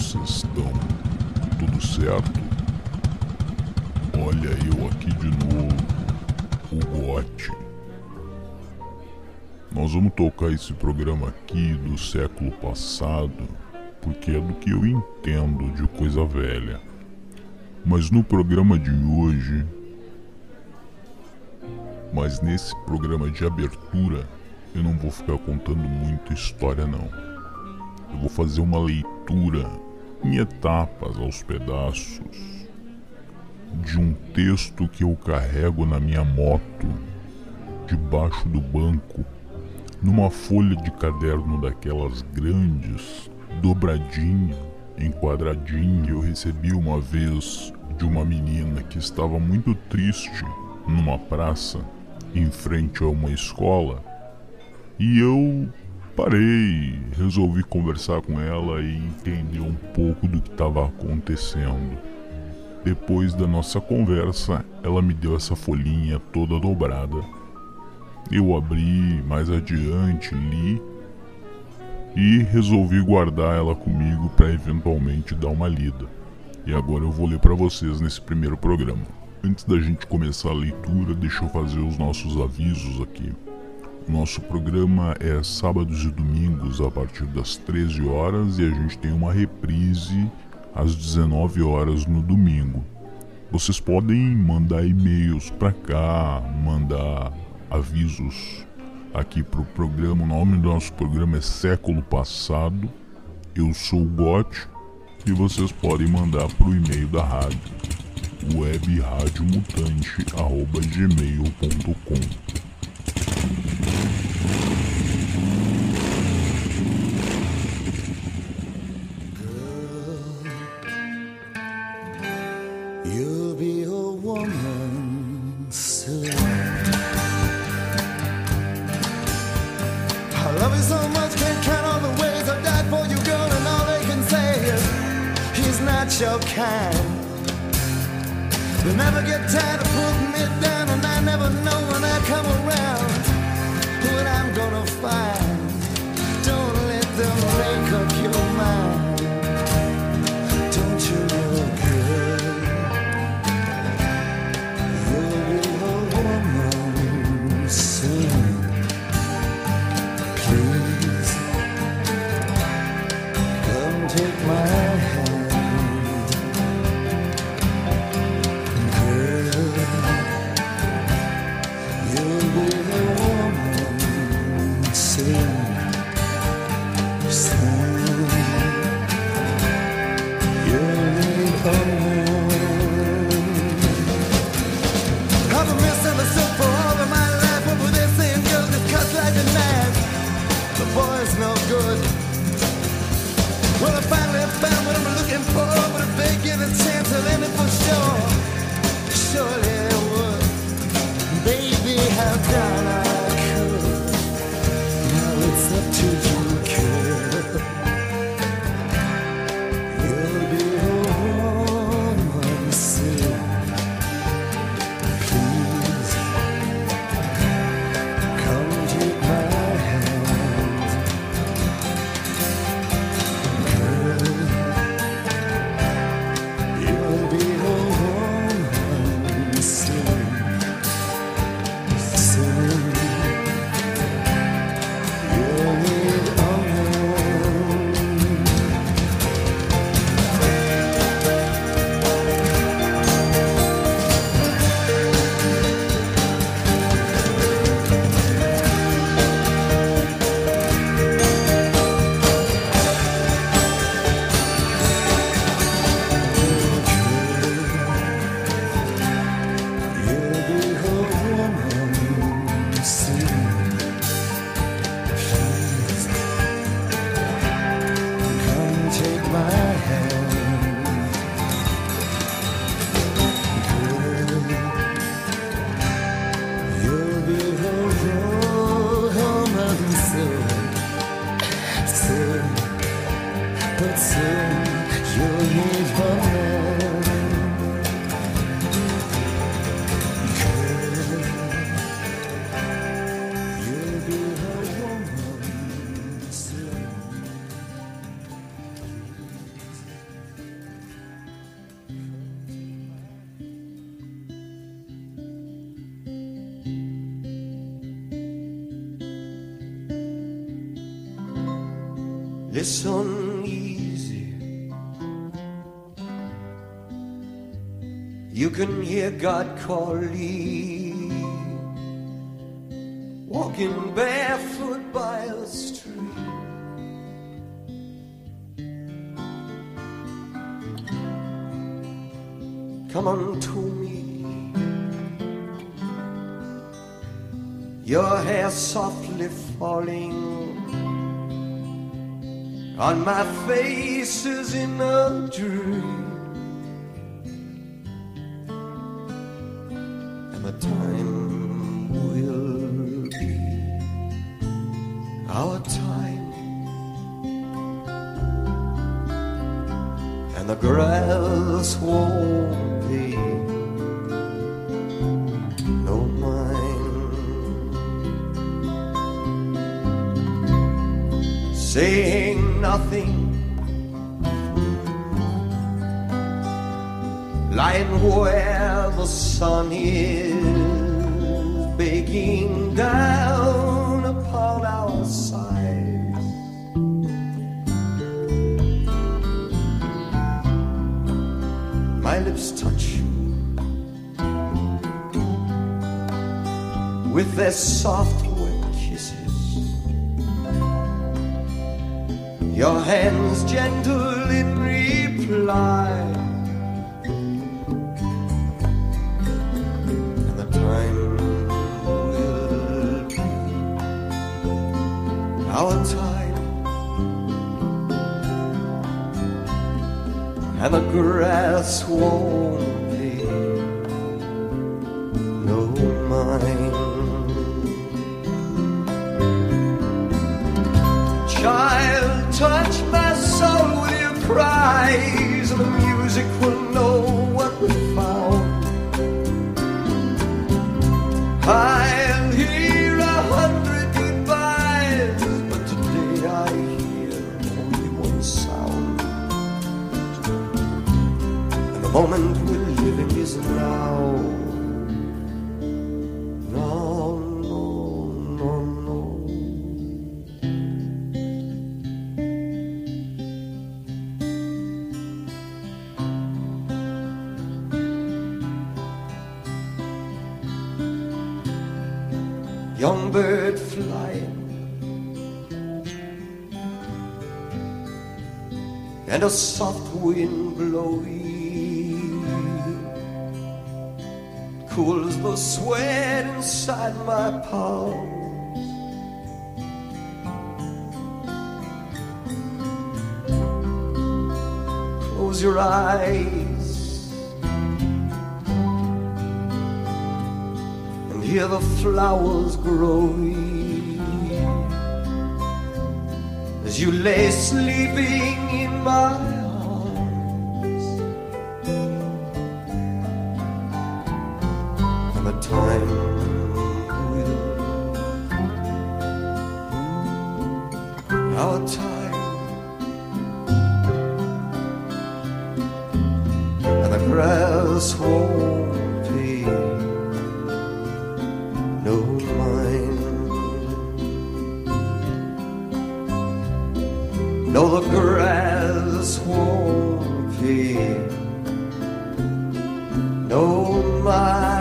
vocês estão? Tudo certo? Olha eu aqui de novo, o Gotti. Nós vamos tocar esse programa aqui do século passado, porque é do que eu entendo de coisa velha. Mas no programa de hoje, nesse programa de abertura, eu não vou ficar contando muita história não. Eu vou fazer uma leitura em etapas, aos pedaços, de um texto que eu carrego na minha moto, debaixo do banco, numa folha de caderno daquelas grandes, dobradinha, enquadradinha. Eu recebi uma vez de uma menina que estava muito triste numa praça, em frente a uma escola, e eu parei, resolvi conversar com ela e entender um pouco do que estava acontecendo. Depois da nossa conversa, ela me deu essa folhinha toda dobrada. Eu abri mais adiante, li e resolvi guardar ela comigo para eventualmente dar uma lida. E agora eu vou ler para vocês nesse primeiro programa. Antes da gente começar a leitura, deixa eu fazer os nossos avisos aqui. O nosso programa é sábados e domingos a partir das 13 horas e a gente tem uma reprise às 19 horas no domingo. Vocês podem mandar e-mails para cá, mandar avisos aqui pro programa. O nome do nosso programa é Século Passado. Eu sou o Gotti e vocês podem mandar pro e-mail da rádio, webradiomutante@gmail.com. You'll be a woman soon. I love you so much, can't count all the ways I died for you, girl, and all they can say is he's not your kind. They never get tired of putting me down, and I never know when I come around what I'm gonna find. Don't let them make up your mind. Don't you look good? You'll be a woman soon. Please come take my hand, girl. You'll be a woman soon, soon. You'll be a woman. I've been misunderstood for all of my life. What were they saying? Girl, just cuts like a knife. The boy's no good. Well, I finally found what I'm looking for, but if they give a chance, I'll end it for sure. Surely they would. Baby, how down I could. Now it's up to you, girl. You'll be a woman soon. Please come take my hand, girl. You'll be a woman Listen easy. You can hear God calling, walking barefoot by a stream. Come unto me, your hair softly falling on my face as in a dream. And the time will be our time, and the grass won't be no mine. Saying nothing, lying where the sun is baking down upon our sides. My lips touch you with their soft wet kisses, your hands gentle in reply, and the time will be our time, and the grass won't be no mine. Child, touch my soul with your cries, and the music will know what we found. I'll hear 100 goodbyes, but today I hear only one sound. And the moment we're living is now. Young bird flying, and a soft wind blowing cools the sweat inside my palms. Close your eyes, hear the flowers growing as you lay sleeping in my arms. And the time will, our time, and the grass won't be no mine. No, the grass won't be no mine.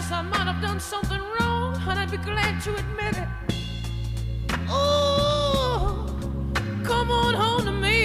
realize I might have done something wrong, and I'd be glad to admit it. Oh, come on home to me.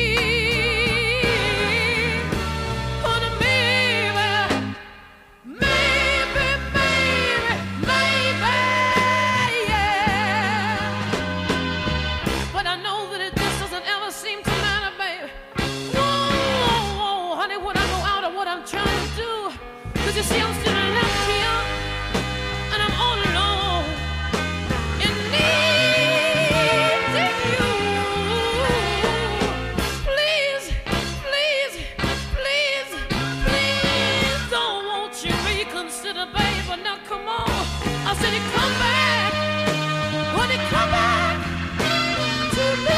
You see, I'm still left here, and I'm all alone, and needing you. Please, please, please, please, don't won't you reconsider, baby? Now come on, I said, come back, honey, come back to me.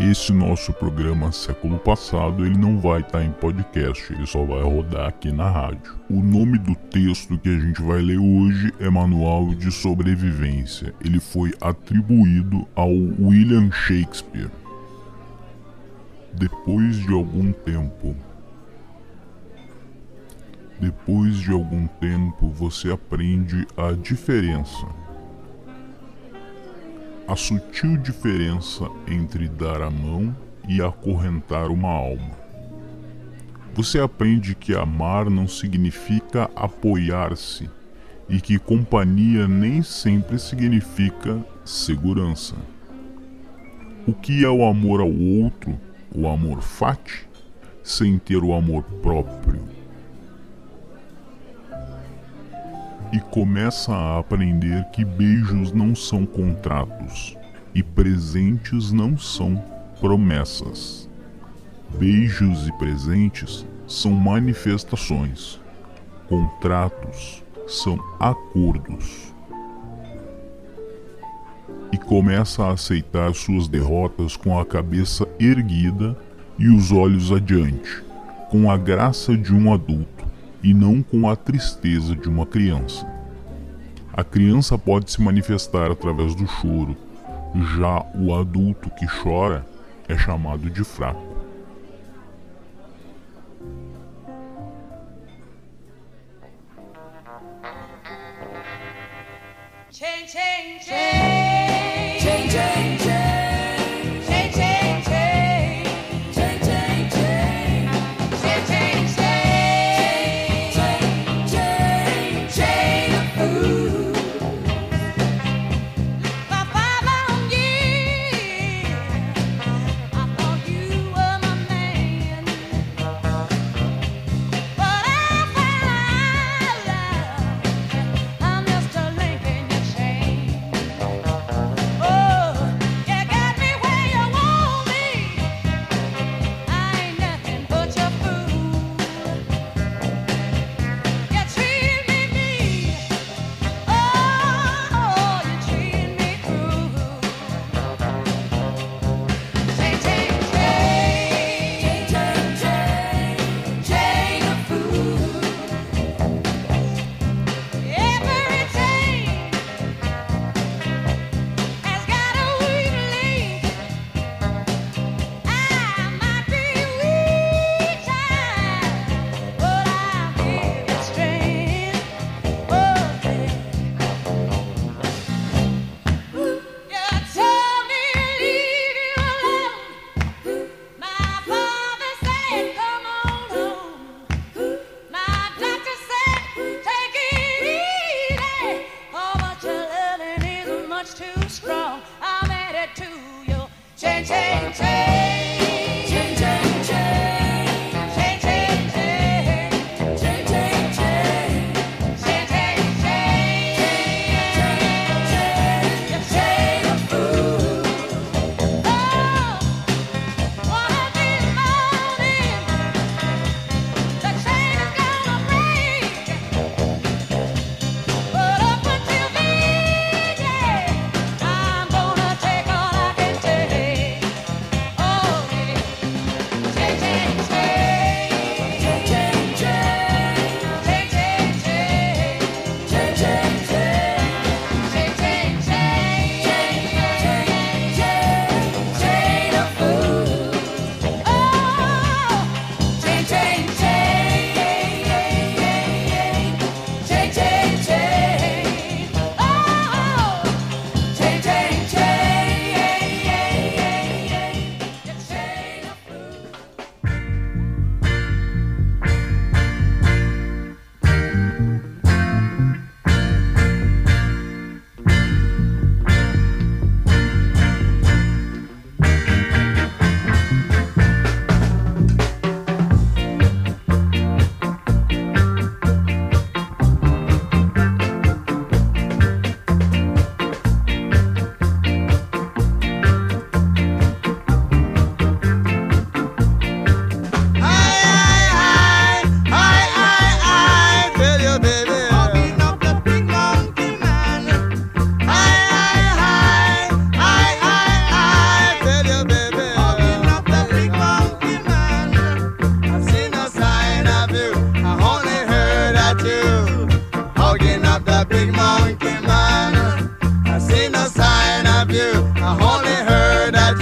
esse nosso programa Século Passado, ele não vai estar em podcast, ele só vai rodar aqui na rádio. O nome do texto que a gente vai ler hoje é Manual de Sobrevivência. Ele foi atribuído ao William Shakespeare. Depois de algum tempo, você aprende a diferença. A sutil diferença entre dar a mão e acorrentar uma alma. Você aprende que amar não significa apoiar-se e que companhia nem sempre significa segurança. O que é o amor ao outro, o amor fati, sem ter o amor próprio? E começa a aprender que beijos não são contratos e presentes não são promessas. Beijos e presentes são manifestações, contratos são acordos. E começa a aceitar suas derrotas com a cabeça erguida e os olhos adiante, com a graça de um adulto e não com a tristeza de uma criança. A criança pode se manifestar através do choro, já o adulto que chora é chamado de fraco. Chain, chain, chain, chain, chain, chain.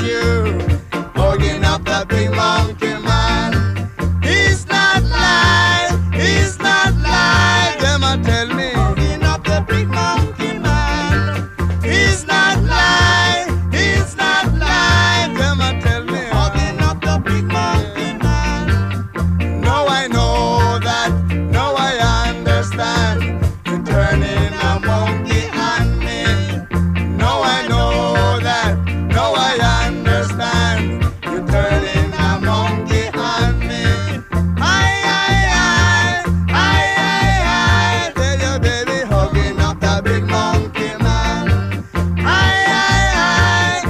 you, hugging up the big monkey man. He's not lying, he's not lying. Them a tell me, hugging up the big monkey man. He's not lying, he's not lying. Them a tell me, hugging up the big monkey man. Now I know that, now I understand. You're turning a monkey on me. Now I know that, now I understand. You're turning a monkey on me. I tell your baby, hugging up the big monkey man. I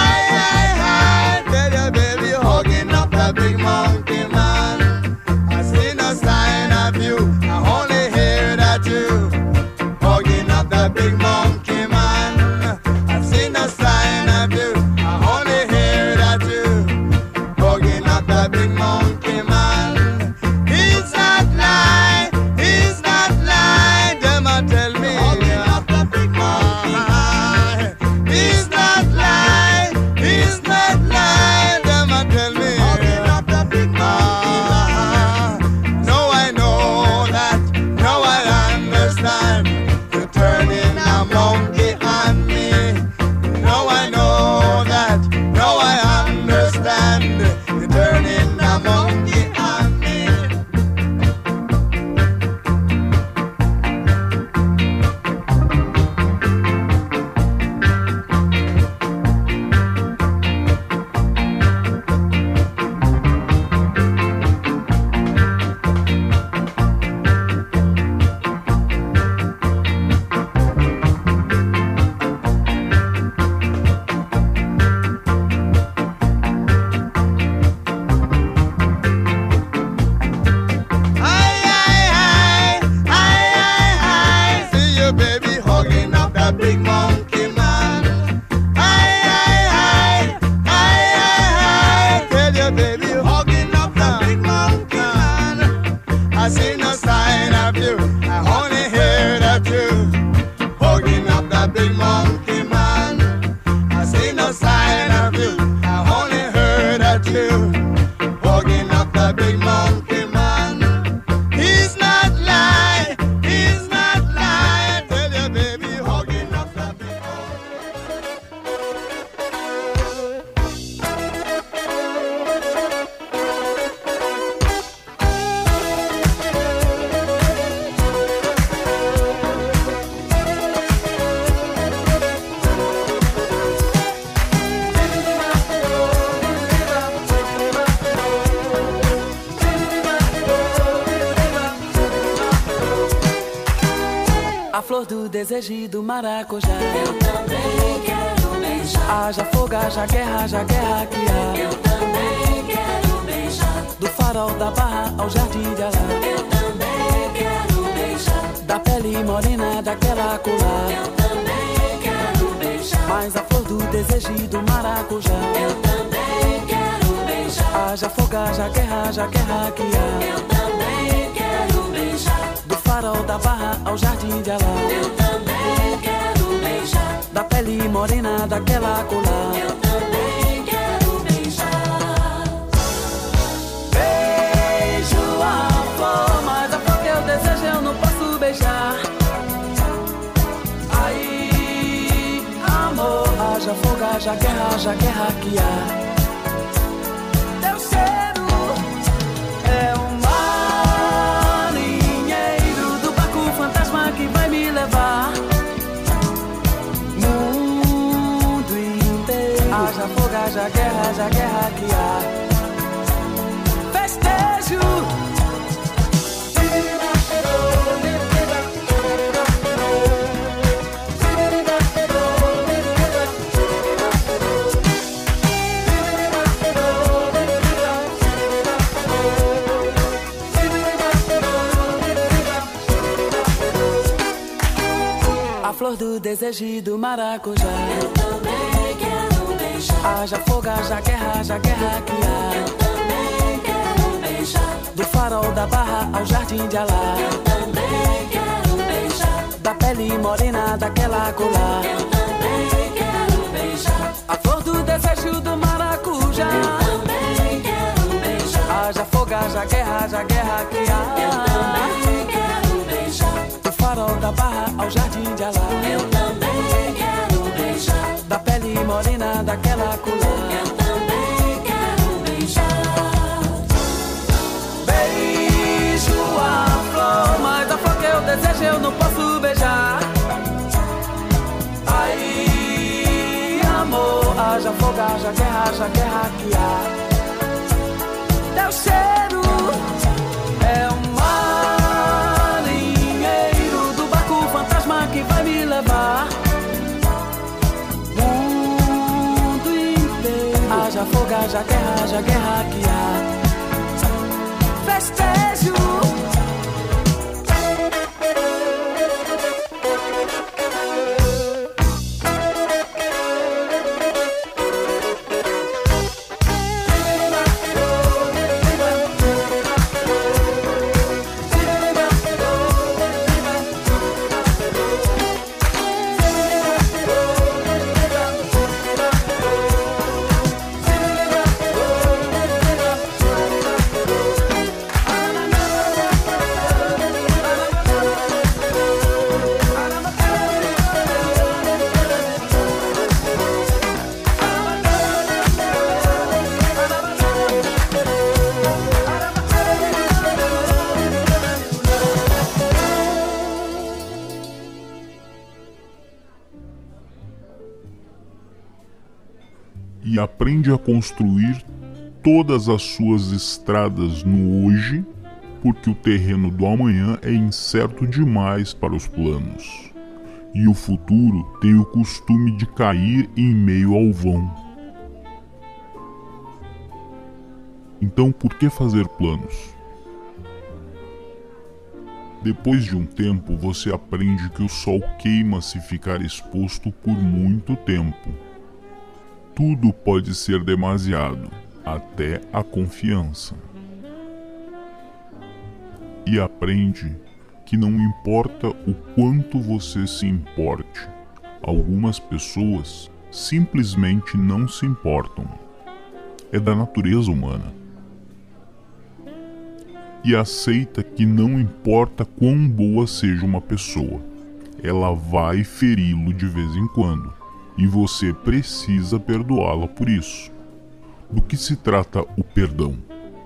tell your baby, hugging up the big monkey man. I see no sign of you, I only hear that you hugging up the big monkey man. I see no sign of you, I only hear that you hugging up the big monkey man. He's not lying, he's not lying. Them a tell me, hugging up the big monkey man. He's not lying, he's not lying. Them a tell me, hugging up the big monkey man. Now I know that, now I understand. You're turning a monkey on me. Now I know that, now I understand. You're turning a monkey on me. I see you, baby, hugging up that big monkey man. I tell you, baby, hugging up that big monkey man. I see no sign of you, I only hear that you hugging up that big monkey man. I see no sign of you, I only heard that you hugging up that big monkey man. He's not lying, he's not lying. Tell you, baby, hugging up that big A flor do desejo e do maracujá. Eu também quero beijar. Haja fogo, haja guerra que há. Eu também quero beijar. Do farol da Barra ao jardim de Alá. Eu também quero beijar. Da pele morena daquela colar. Eu também quero beijar. Mas a flor do desejo e do maracujá. Eu também quero beijar. Haja fogo, haja guerra que há. Eu também quero beijar. Do farol da Barra ao jardim de Alá. Eu também quero beijar. Da pele morena daquela colar. Eu também quero beijar. Beijo a flor, mas a flor que eu desejo eu não posso beijar. Aí, amor, haja fogo, haja guerra que há. Teu cheiro é um marinheiro do barco fantasma que vai me levar. Mundo inteiro, haja fogo, haja guerra que há. Festejo. A flor do desejo e do maracujá. Eu também quero beijar. Haja fogo, haja guerra que há. Eu também quero beijar. Do farol da Barra ao jardim de Alá. Eu também quero beijar. Da pele morena daquela colar. Eu também quero beijar. A flor do desejo do mar. haja guerra que Eu há. também quero beijar. Do farol da Barra ao Jardim de Alá. Eu também quero beijar. Da pele morena daquela culã. Eu também quero beijar. Beijo a flor, mas a flor que eu desejo eu não posso beijar. Ai, amor, haja fogo, haja guerra que há. Teu cheiro é um marinheiro do barco fantasma que vai me levar. Mundo inteiro, haja fogo, haja guerra que há. Festejo. E aprende a construir todas as suas estradas no hoje, porque o terreno do amanhã é incerto demais para os planos. E o futuro tem o costume de cair em meio ao vão. Então, por que fazer planos? Depois de um tempo, você aprende que o sol queima se ficar exposto por muito tempo. Tudo pode ser demasiado, até a confiança. E aprende que não importa o quanto você se importe, algumas pessoas simplesmente não se importam. É da natureza humana. E aceita que não importa quão boa seja uma pessoa, ela vai feri-lo de vez em quando. E você precisa perdoá-la por isso. Do que se trata o perdão?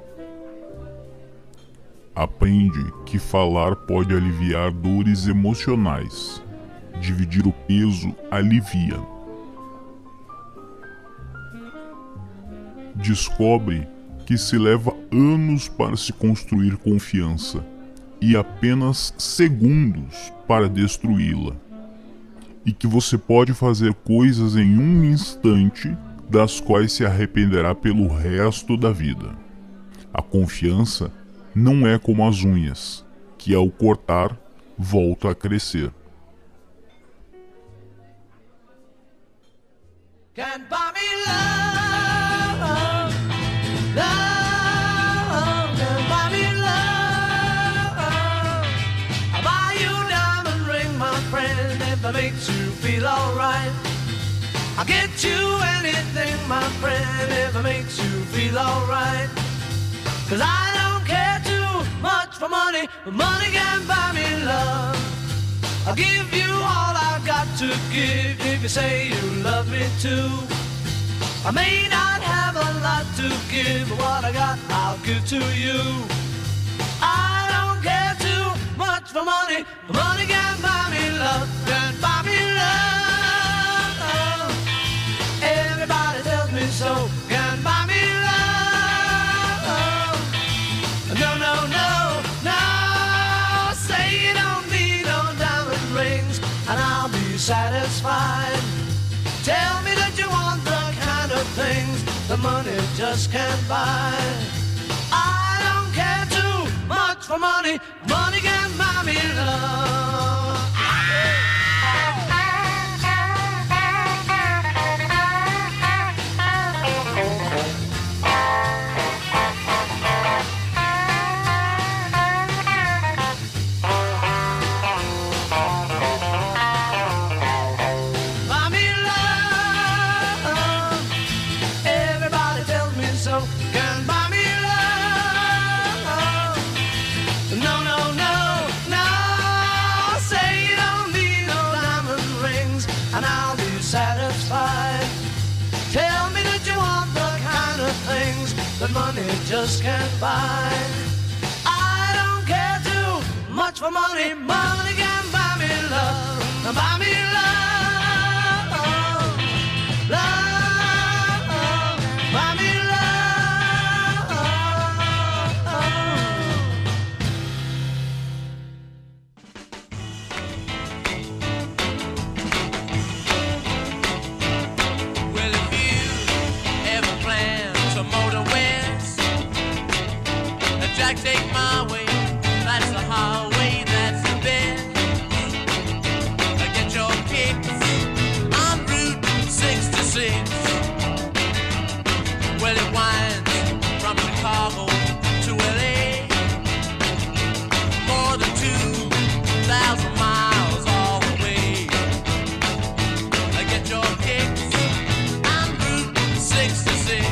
Aprende que falar pode aliviar dores emocionais. Dividir o peso alivia. Descobre que se leva anos para se construir confiança e apenas segundos para destruí-la. E que você pode fazer coisas em um instante das quais se arrependerá pelo resto da vida. A confiança não é como as unhas, que ao cortar, volta a crescer. Can't buy me love, love, can't buy me love. I'll buy you a diamond ring, my friend, if that makes you feel alright. I'll get you anything, my friend, if it makes you feel alright. 'Cause I don't care too much for money, but money can't buy me love. I'll give you all I've got to give if you say you love me too. I may not have a lot to give, but what I got I'll give to you. I don't care too much for money, but money can't buy me love, can't buy me love. Everybody tells me so, can't buy me love. No, no, no, no, say you don't need no diamond rings and I'll be satisfied. Tell me that you want the kind of things the money just can't buy. I don't care too much for money, money can't buy me love. Everybody tells me so, can buy me love. satisfied. Tell me that you want the kind of things that money just can't buy. I don't care too much for money. Money can buy me love. Buy me love. Love. Buy me love. Well, if you ever plan to motor west, Jack, take my way. That's the highway, that's the best. Get your kicks on Route 66. Well, it winds from Chicago to LA, more than 2,000 miles all the way. Get your kicks on Route 66.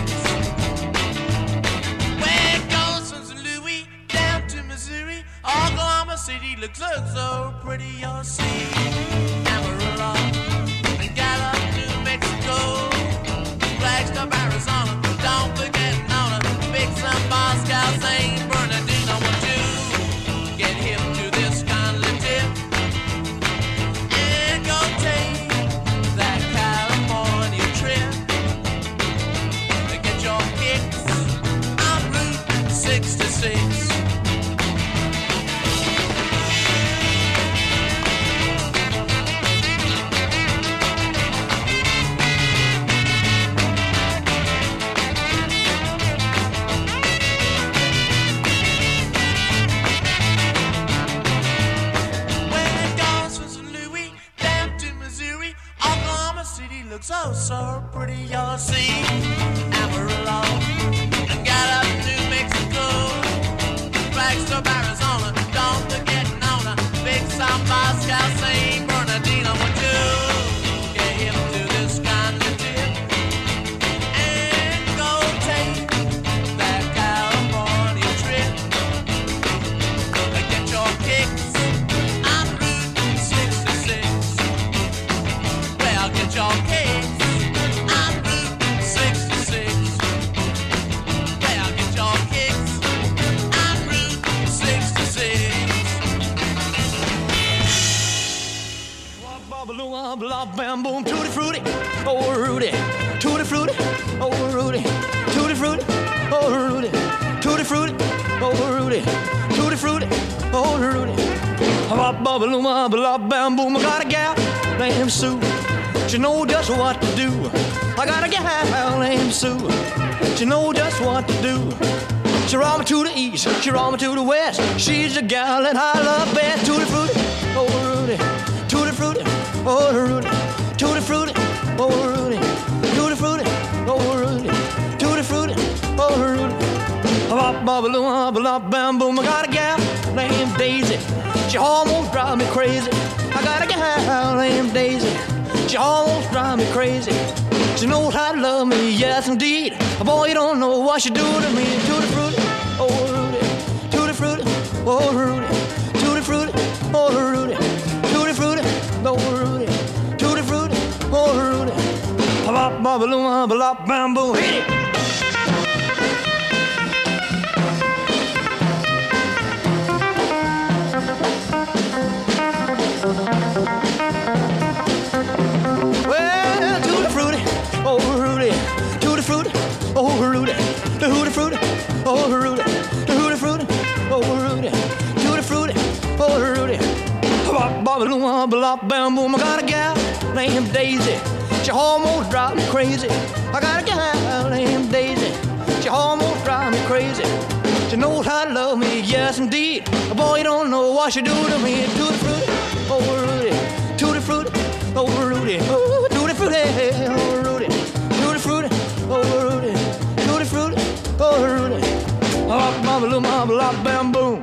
Where it goes from St. Louis down to Missouri, Oklahoma City looks so pretty, you'll see. Amarillo and Gallup, New Mexico, Flagstaff, Arizona. Don't forget Nona, Big Sun, Moscow, St. Bernardino. Won't you get hip to this kindly tip and go take that California trip? Get your kicks on Route 66. So pretty, you'll see. Amarillo and Gallup, New Mexico, Flagstaff, Arizona. Don't forget Nona, Big South, Moscow, St. Bernardino. Would you get hip to this kind of tip and go take that California trip? Get your kicks on Route 66. Well, get your kicks. Blah, bam, boom, tutti frutti, oh Rudy, tutti frutti, oh Rudy, tutti frutti, oh Rudy, tutti frutti, oh Rudy, tutti frutti, oh Rudy. Blah, blah, blah, bam, boom, I got a gal named Sue. She know just what to do. I got a gal named Sue. She know just what to do. She roll me to the east, she roll me to the west. She's the gal that I love best. Tutti frutti, oh Rudy, tutti frutti, oh Rudy, tutti frutti, oh Rudy, tutti frutti, oh Rudy, tutti frutti, oh Rudy. Bop, bop, bop, bop, bam, boom. I got a gal named Daisy. She almost drive me crazy. I got a gal named Daisy. She almost drive me crazy. She knows how to love me, yes indeed. Boy, you don't know what she do to me. Tutti frutti, oh Rudy, tutti frutti, oh Rudy, tutti frutti, oh Rudy, tutti frutti, oh Rudy, tutti frutti, oh Rudy. Bop, bop, bop, bop, bam, boom, hit it. Well, tutti frutti, oh Rudy, tutti frutti, oh Rudy, tutti frutti, oh Rudy, tutti frutti, oh Rudy, tutti frutti, oh Rudy. Bop, bop, bop, bop, bam, boom. I got a gal named Daisy. She almost drive me crazy. I got a gal named Daisy. She almost drive me crazy. She knows how to love me, yes indeed. Boy, you don't know what she do to me. Tutti frutti, oh Rudy, tutti frutti, oh Rudy, oh tutti frutti, oh Rudy, tutti frutti, oh Rudy, tutti frutti, oh Rudy. Bop, bop, bop, bop, bam, boom.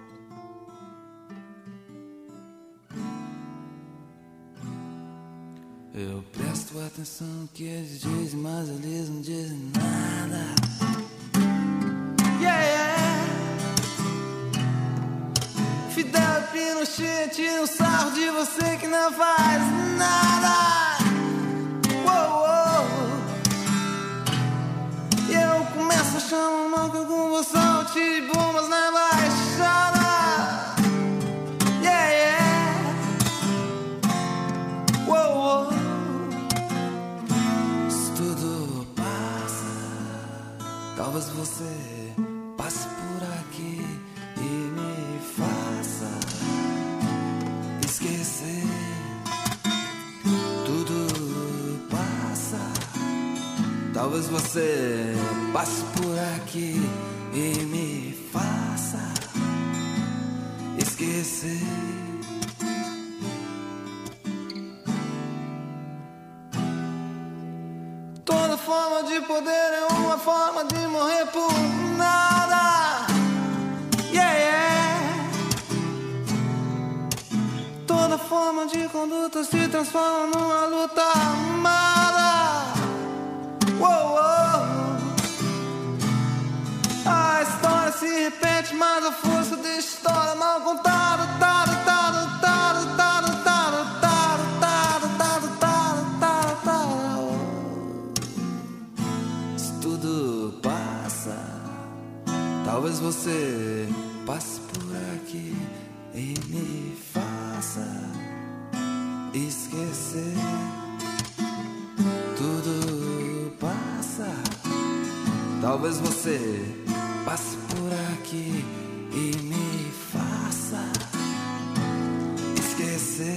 Eu presto atenção que eles dizem, mas eles não dizem nada. Yeah! Fidel Pinochet tira um sarro de você que não faz nada. Talvez você passe por aqui e me faça esquecer. Tudo passa. Talvez você passe por aqui e me faça esquecer. Toda forma de poder é uma forma de morrer por nada. Yeah, yeah. Toda forma de conduta se transforma numa luta armada. Uou, uou. A história se repete, mas a força da história mal contada. Isso tudo passa. Talvez você passe por aqui e me faça esquecer. Tudo passa. Talvez você passe por aqui e me faça esquecer.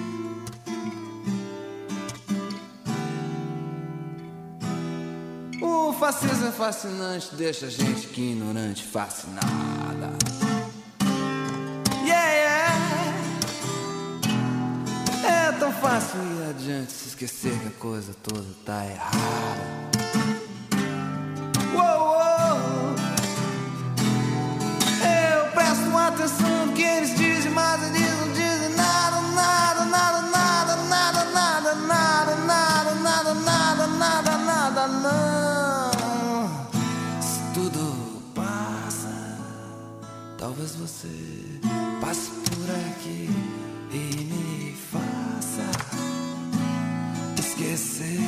O fascismo é fascinante, deixa a gente ignorante, fascinada. Yeah, yeah. É tão fácil ir adiante, se esquecer que a coisa toda tá errada. Uou, uou. Eu presto atenção no que eles dizem, mas eles não dizem nada, nada, nada, nada, nada, nada, nada, nada, nada, nada, nada, nada, não. Isso tudo passa. Talvez você passe por aqui e me faça esquecer.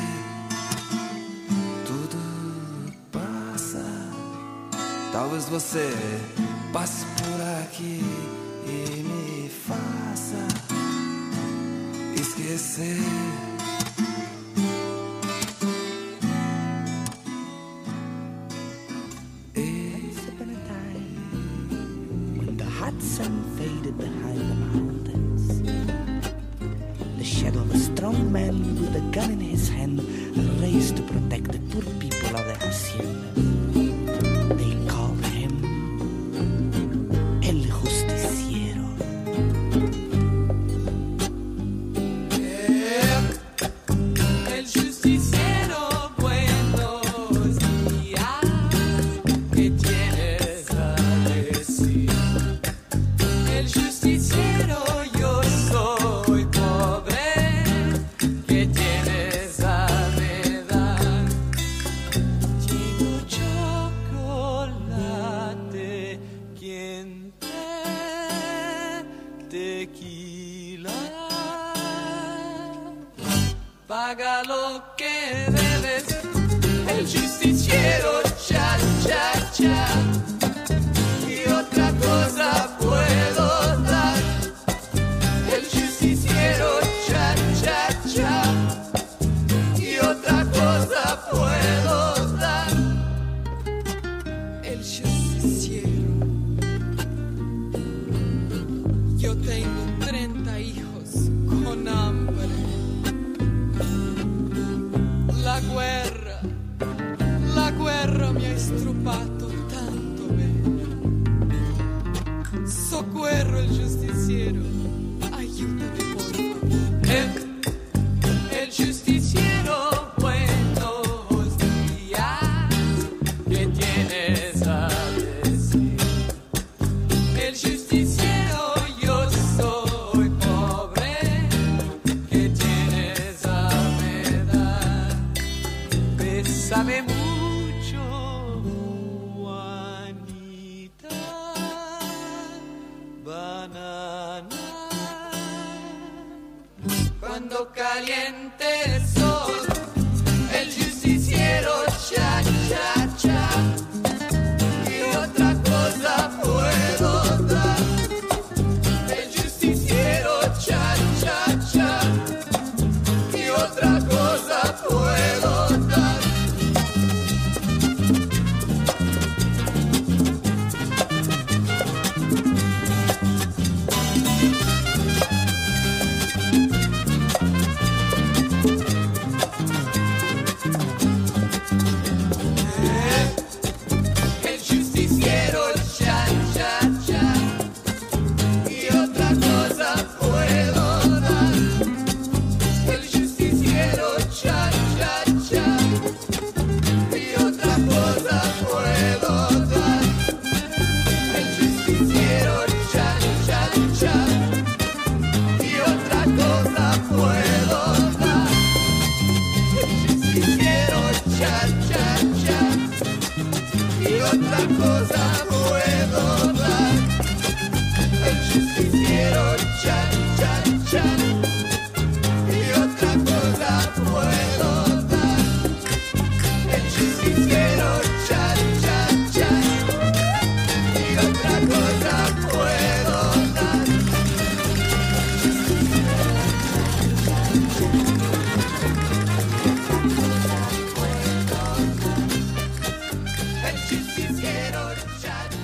Tudo passa. Talvez você passe por aqui e me faça esquecer. Once upon a time, when the hot sun faded behind the mountains, the shadow of a strong man with a gun in his hand raised to protect the poor people of the haciendas. They called him El Justiciero. El justiciero, buenos días. ¿Qué tienes a decir? El justiciero, yo soy pobre. ¿Qué tienes a me dar? Tengo chocolate, quien tequila. Paga lo que debes. El justiciero, cha, cha, cha. Y otra cosa puedo dar. El justiciero, cha, cha, cha. Y otra cosa puedo dar. El justiciero. Yo tengo 30 hijos con hambre. La guerra mi ha istrupato tanto bene. Soccorro il giustiziero, aiutami por favor. El justiciero, buenos días. ¿Qué tienes a decir? El justiciero, yo soy pobre. ¿Qué tienes a me dar? Bésame mucho, Juanita, banana. Cuando caliente el sol, el justiciero, cha, cha, cha. Y otra cosa puedo dar. El justiciero, cha, cha, cha. Y otra cosa puedo dar. otra cosa puedo dar. El justiciero chan, chan, chan. Y otra cosa puedo dar. El justiciero chan, chan, chan. Y otra cosa puedo dar. El justiciero chan.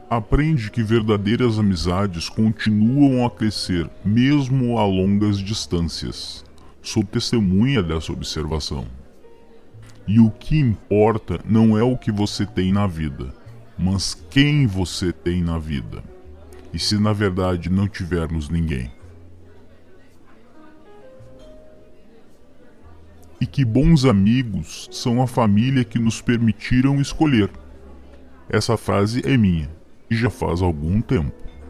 Aprende que verdadeiras amizades continuam a crescer mesmo a longas distâncias. Sou testemunha dessa observação. E o que importa não é o que você tem na vida, mas quem você tem na vida. E se na verdade não tivermos ninguém. E que bons amigos são a família que nos permitiram escolher. Essa frase é minha, e já faz algum tempo.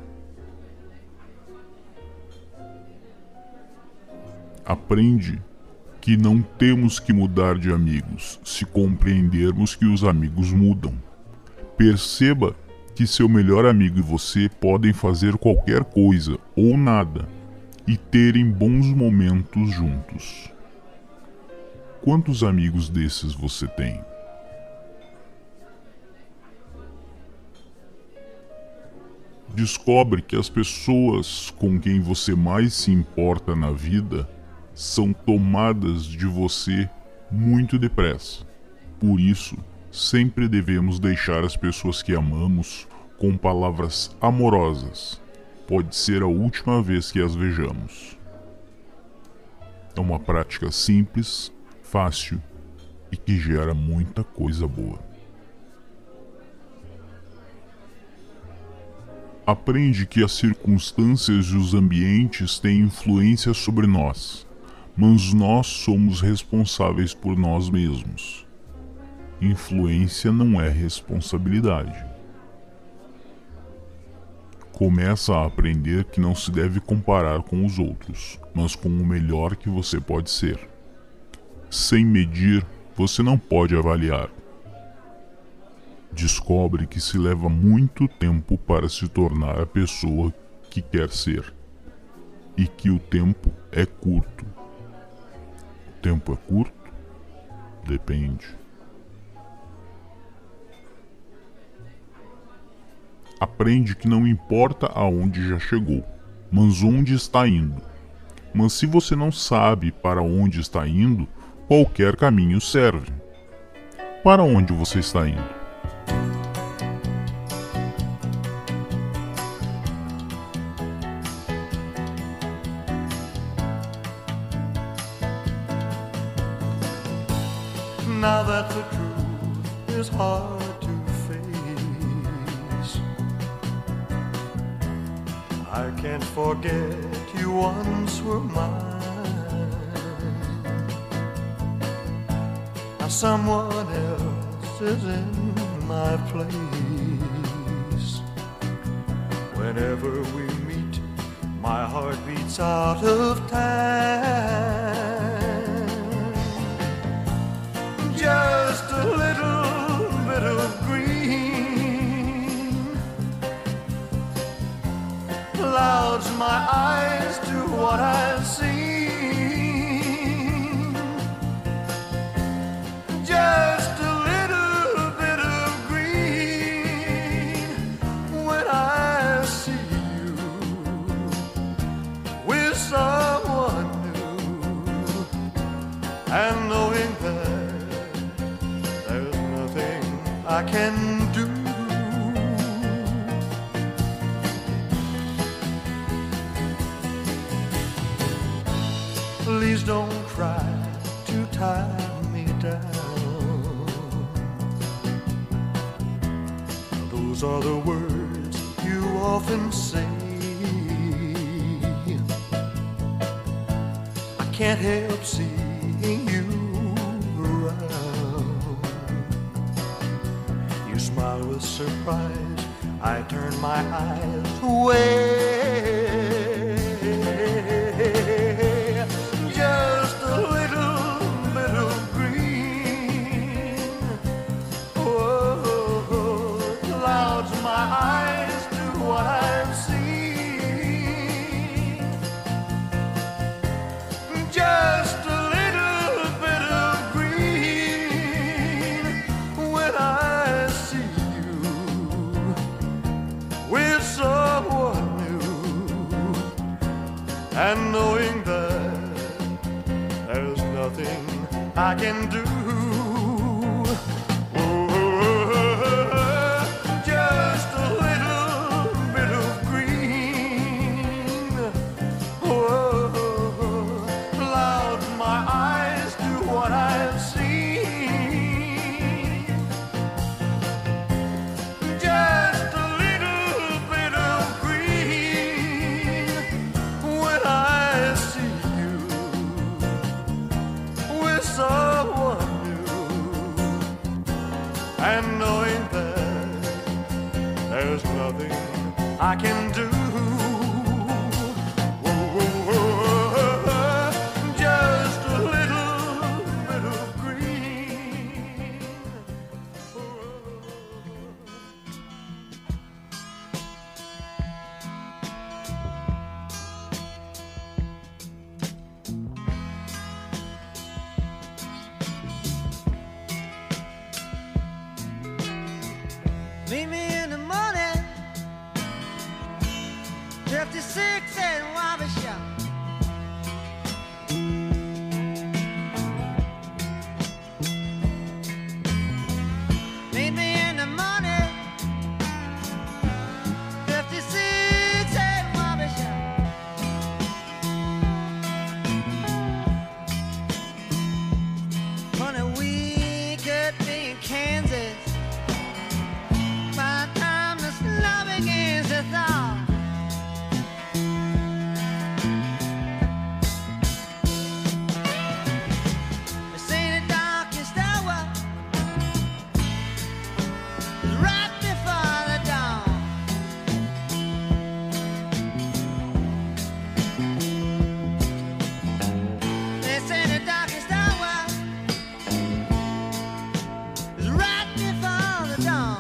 Aprende que não temos que mudar de amigos, se compreendermos que os amigos mudam. Perceba que seu melhor amigo e você podem fazer qualquer coisa ou nada e terem bons momentos juntos. Quantos amigos desses você tem? Descobre que as pessoas com quem você mais se importa na vida são tomadas de você muito depressa. Por isso, sempre devemos deixar as pessoas que amamos com palavras amorosas. Pode ser a última vez que as vejamos. É uma prática simples, fácil e que gera muita coisa boa. Aprende que as circunstâncias e os ambientes têm influência sobre nós, mas nós somos responsáveis por nós mesmos. Influência não é responsabilidade. Começa a aprender que não se deve comparar com os outros, mas com o melhor que você pode ser. Sem medir, você não pode avaliar. Descobre que se leva muito tempo para se tornar a pessoa que quer ser, e que o tempo é curto. O tempo é curto? Depende. Aprende que não importa aonde já chegou, mas onde está indo. Mas se você não sabe para onde está indo, qualquer caminho serve. Para onde você está indo? Now that the truth is hard to face, I can't forget you once were mine. Now someone else is in my place. Whenever we meet, my heart beats out of time. Just a little bit of green clouds my eyes to what I've seen. Just a little bit of green when I see you with someone new, and knowing that I can do. Please don't try to tie me down. Those are the words you often say. I can't help seeing you around. You smile with surprise, I turn my eyes away. Just a little bit of green, oh, clouds my eyes to what I've seen. Just a little bit of green when I see you with someone new, and knowing that there's nothing I can do. Just a little and knowing that there's nothing I can do. Just a little bit of green. Meet me in the morning, 56 and Wabi Shop. Meet me in the morning, 56 and Wabi Shop. On a week could be in Kansas. By the time the snow begins to thaw, it's in the darkest hour, right before the dawn. It's in the darkest hour, it's right before the dawn.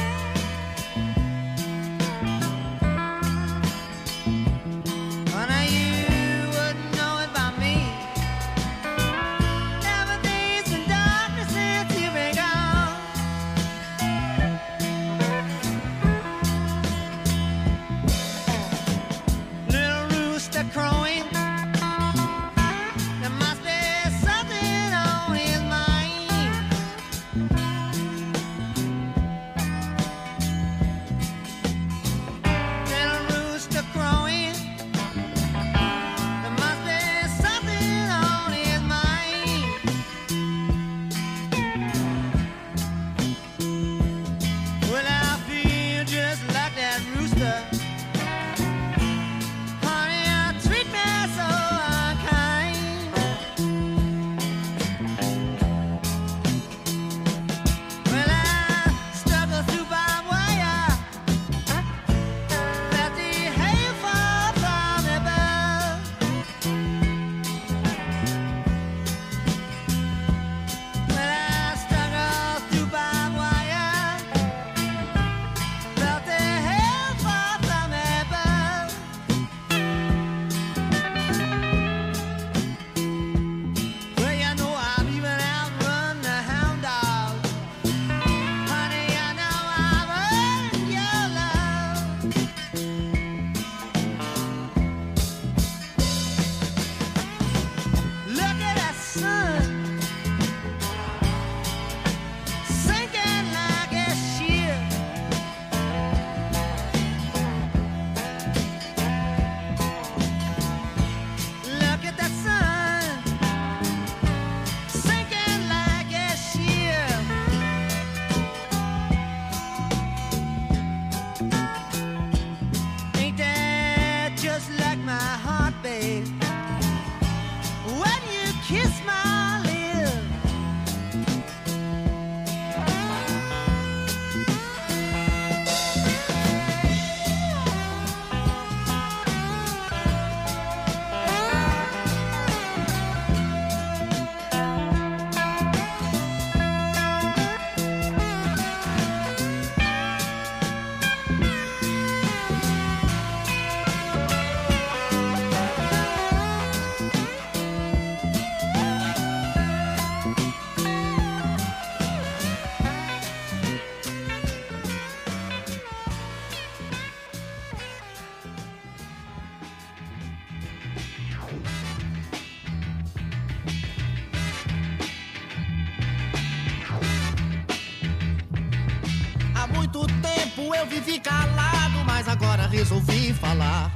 Eu vivi calado, mas agora resolvi falar.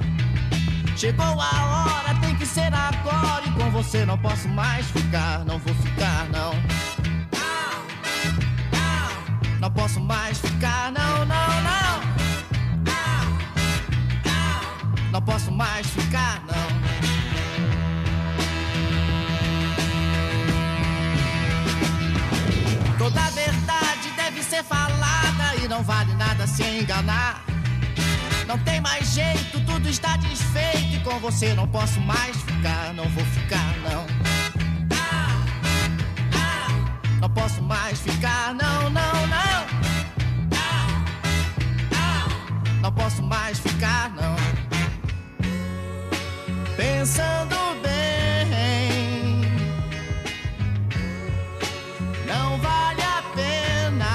Chegou a hora, tem que ser agora. E com você não posso mais ficar. Não vou ficar, não. Não posso mais ficar, não, não, não. Não posso mais ficar, não. Toda verdade deve ser nada se enganar. Não tem mais jeito, tudo está desfeito. E com você não posso mais ficar, não vou ficar, não. Não posso mais ficar, não, não, não. Não posso mais ficar, não. Pensando bem, não vale a pena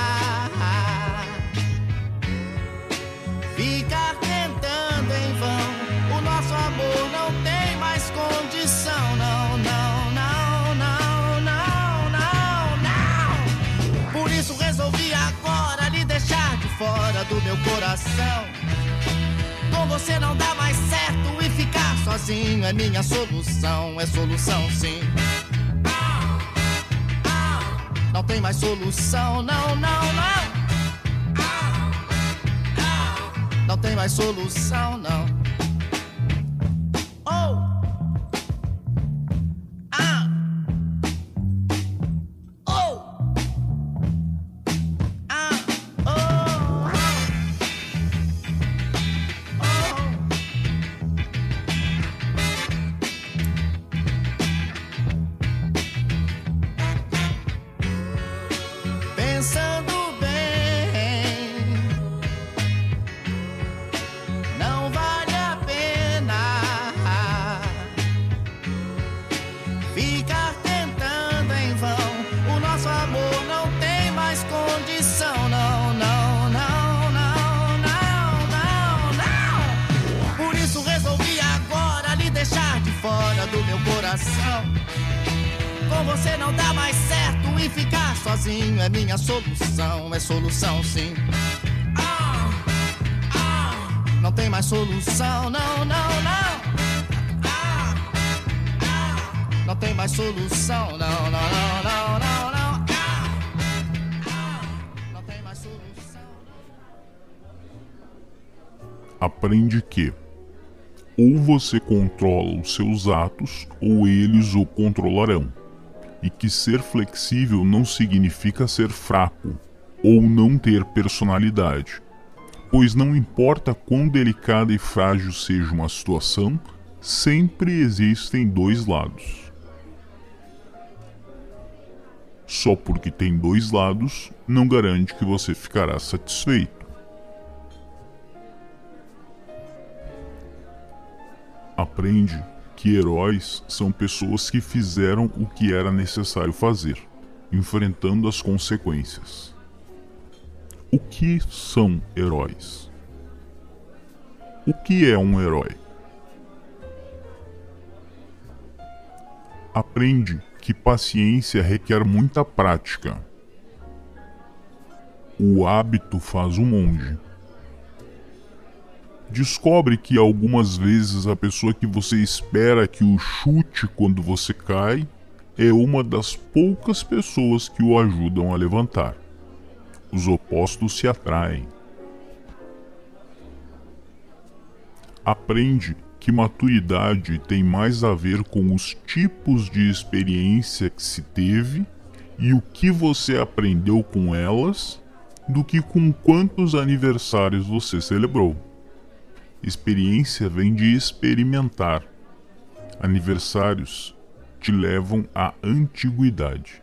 ficar tentando em vão. O nosso amor não tem mais condição, não, não, não, não, não, não, não. Por isso resolvi agora lhe deixar de fora do meu coração. Com você não dá mais certo e ficar sozinho é minha solução, é solução sim. Não tem mais solução, não, não, não. Não tem mais solução, não. Oh! Ah! Oh! Ah! Oh! Pensando bem, não vale a pena ficar tentando em vão. O nosso amor não tem mais condição, não, não, não, não, não, não, não. Por isso resolvi agora lhe deixar de fora do meu coração. Com você não dá mais certo e ficar sozinho é minha solução, é solução sim. Não tem mais solução, não, não, não. Não tem mais solução, não, não, não, não, não, não. Não tem mais solução. Aprende que ou você controla os seus atos ou eles o controlarão. E que ser flexível não significa ser fraco ou não ter personalidade, pois não importa quão delicada e frágil seja uma situação, sempre existem dois lados. Só porque tem dois lados não garante que você ficará satisfeito. Aprende que heróis são pessoas que fizeram o que era necessário fazer, enfrentando as consequências. O que são heróis? O que é um herói? Aprende que paciência requer muita prática. O hábito faz o monge. Descobre que algumas vezes a pessoa que você espera que o chute quando você cai é uma das poucas pessoas que o ajudam a levantar. Os opostos se atraem. Aprende que maturidade tem mais a ver com os tipos de experiência que se teve e o que você aprendeu com elas do que com quantos aniversários você celebrou. Experiência vem de experimentar. Aniversários te levam à antiguidade.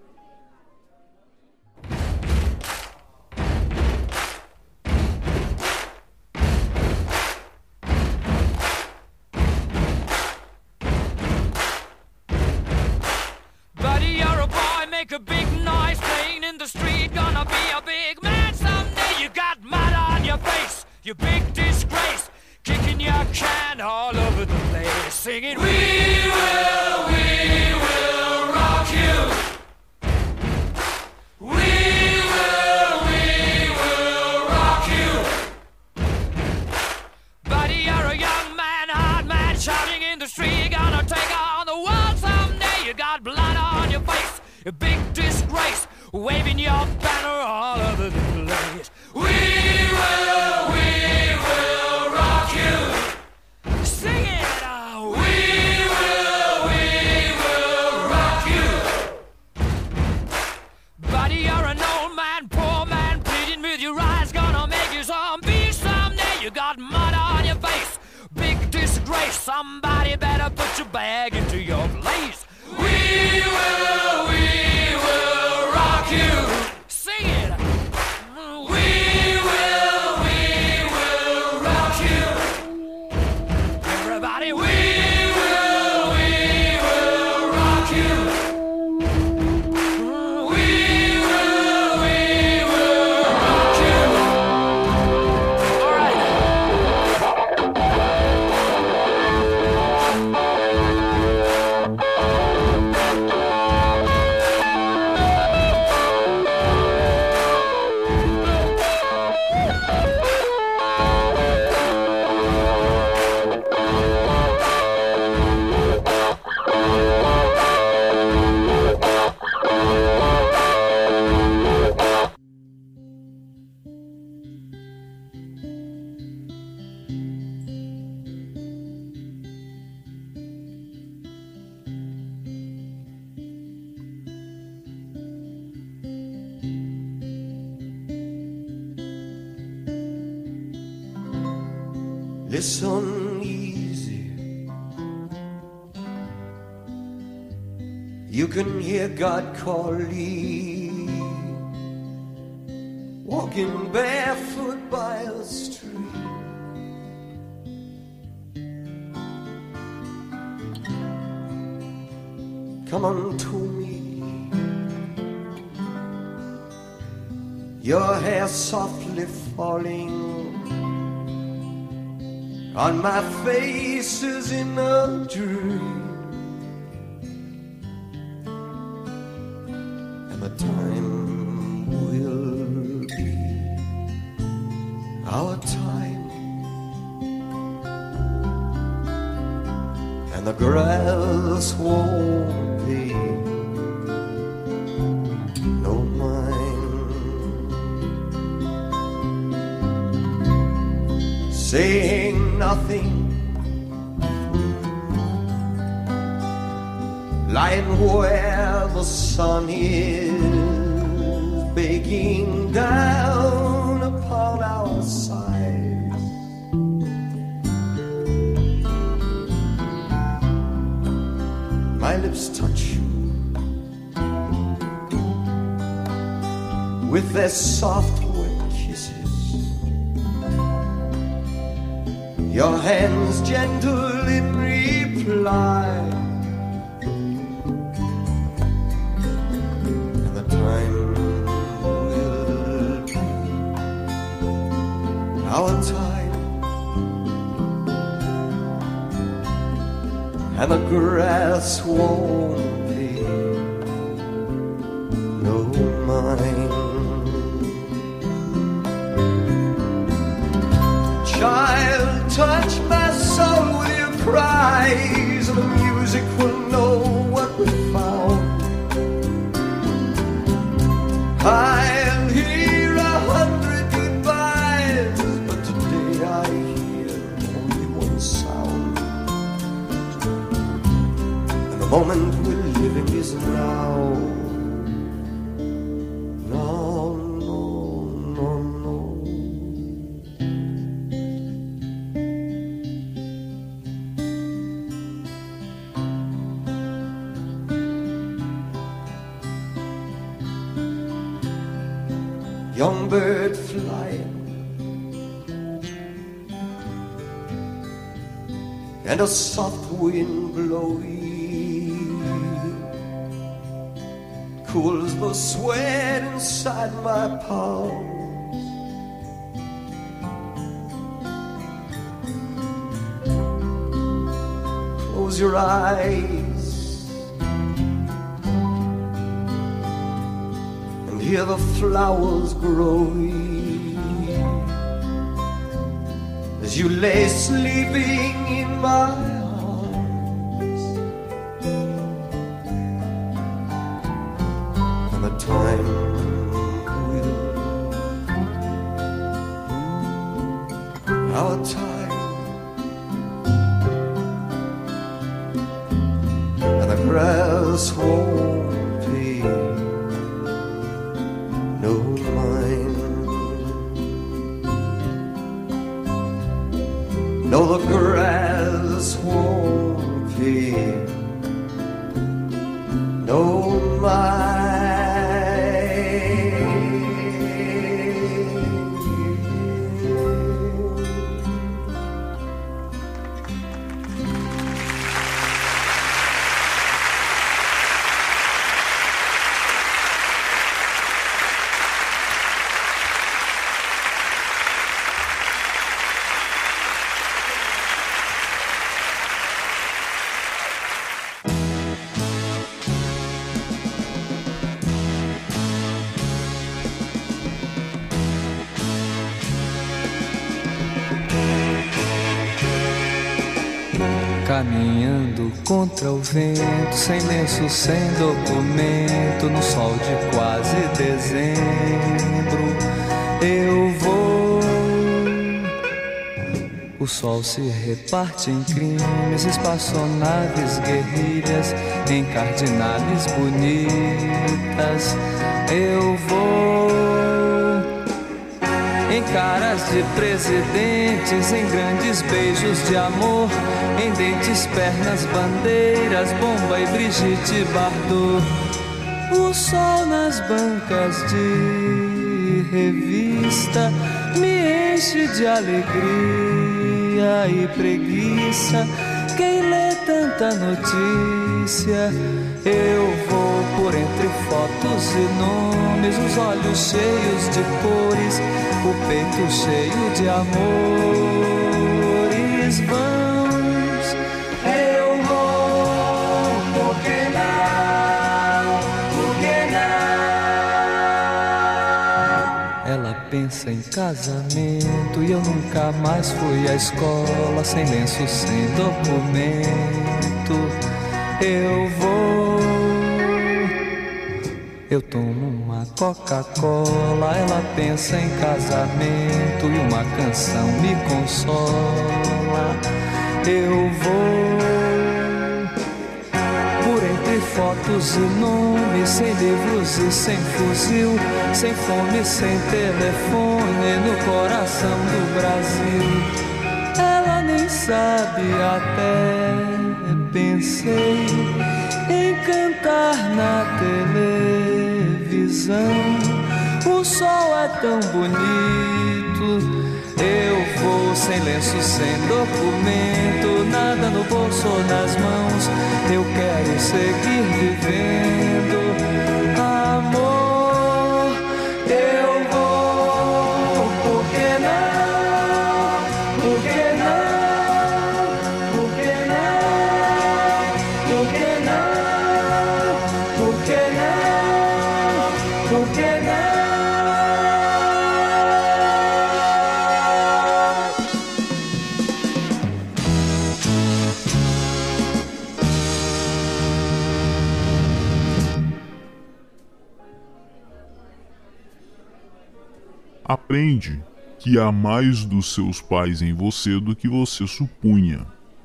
Buddy, you're a boy, make a big noise playing in the street. Gonna be a big man someday. You got mud on your face, you big disgrace. Kicking your can all over the place, singing, we will rock you. We will rock you. Buddy, you're a young man, hard man, shouting in the street. Gonna take on the world someday. You got blood on your face, a big disgrace, waving your banner all over the place. We will rock you. Sing it! We will rock you. Buddy, you're an old man, poor man, pleading with your eyes. Gonna make you Hey, somebody better put your bag into your place. We will rock you. Sing it. We will rock you. Everybody, we will rock you. We will rock you. All right. Listen easy. You can hear God calling, walking barefoot by a stream. Come unto me, your hair softly falling on my face is in a dream, and the time will be our time, and the grass won't be no mine. Saying nothing, lying where the sun is baking down upon our sides. My lips touch you with their soft wet kisses, your hands gentle in reply, and the time will be our time, and the grass won't be no mine. Child, touch my soul with your cries, and the music will know what we found. I'll hear 100 goodbyes, but today I hear only one sound. And the moment we're living is now. Young bird flying, and a soft wind blowing cools the sweat inside my palms. Close your eyes and hear the flowers growing as you lay sleeping in my arms. And the time will, our time, and the grass won't be no mine. No, the grass swampy. No mind. Caminhando contra o vento, sem lenço, sem documento, no sol de quase dezembro, eu vou. O sol se reparte em crimes, espaçonaves, guerrilhas, em cardinales bonitas, eu vou. Em caras de presidentes, em grandes beijos de amor, em dentes, pernas, bandeiras, Bomba e Brigitte Bardot. O sol nas bancas de revista me enche de alegria e preguiça. Quem lê tanta notícia? Eu vou por entre fotos e nomes, os olhos cheios de cores, o peito cheio de amores vãos. Eu vou, por que não? Por que não? Ela pensa em casamento e eu nunca mais fui à escola, sem lenço, sem documento. Eu vou. Eu tomo uma Coca-Cola, ela pensa em casamento e uma canção me consola. Eu vou por entre fotos e nomes, sem livros e sem fuzil, sem fome, sem telefone, no coração do Brasil. Ela nem sabe, até pensei em cantar na televisão. O sol é tão bonito. Eu vou sem lenço, sem documento, nada no bolso ou nas mãos. Eu quero seguir vivendo, amor. Eu vou, por que não? Por que não? Por que não? Por que não? Por que não? Por que não? Aprende que há mais dos seus pais em você do que você supunha.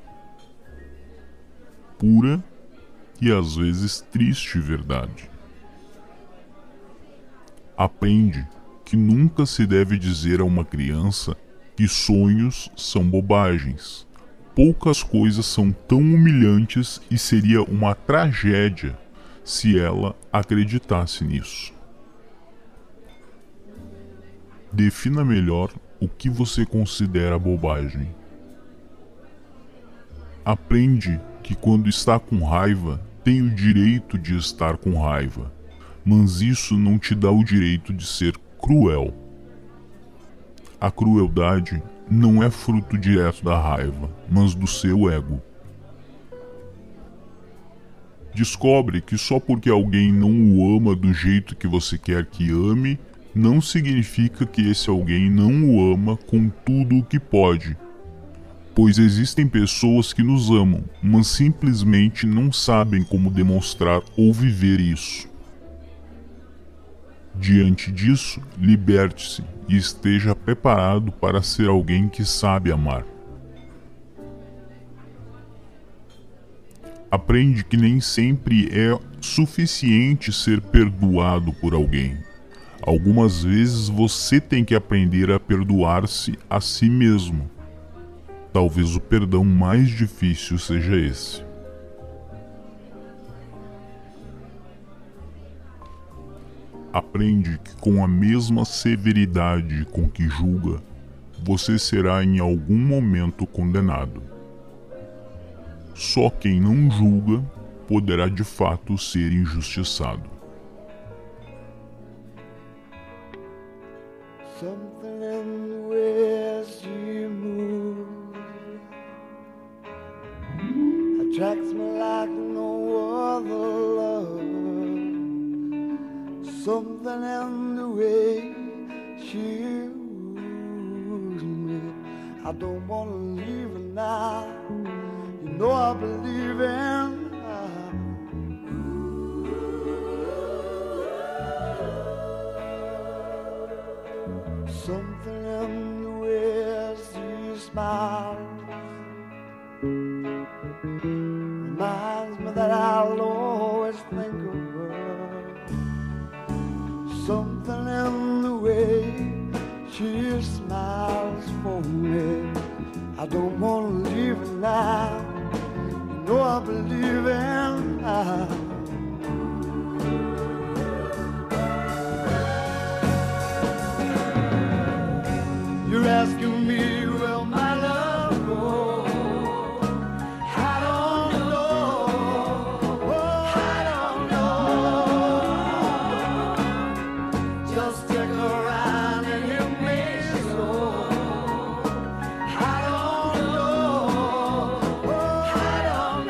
Pura e às vezes triste verdade. Aprende que nunca se deve dizer a uma criança que sonhos são bobagens. Poucas coisas são tão humilhantes e seria uma tragédia se ela acreditasse nisso. Defina melhor o que você considera bobagem. Aprende que quando está com raiva, tem o direito de estar com raiva, mas isso não te dá o direito de ser cruel. A crueldade não é fruto direto da raiva, mas do seu ego. Descobre que só porque alguém não o ama do jeito que você quer que ame, não significa que esse alguém não o ama com tudo o que pode. Pois existem pessoas que nos amam, mas simplesmente não sabem como demonstrar ou viver isso. Diante disso, liberte-se e esteja preparado para ser alguém que sabe amar. Aprende que nem sempre é suficiente ser perdoado por alguém. Algumas vezes você tem que aprender a perdoar-se a si mesmo. Talvez o perdão mais difícil seja esse. Aprende que com a mesma severidade com que julga, você será em algum momento condenado. Só quem não julga poderá de fato ser injustiçado. Something in the way she moves attracts me like no other love. Something in the way she moves me, I don't wanna leave her now. You know I believe in her. Something in the way she smiles reminds me that I'll always think of her. Something in the way she smiles for me, I don't wanna leave her now. You know I believe in her. You're asking me, will my love go? I don't know. Oh, I don't know. Just stick around and you make sure. I don't know. Oh, I don't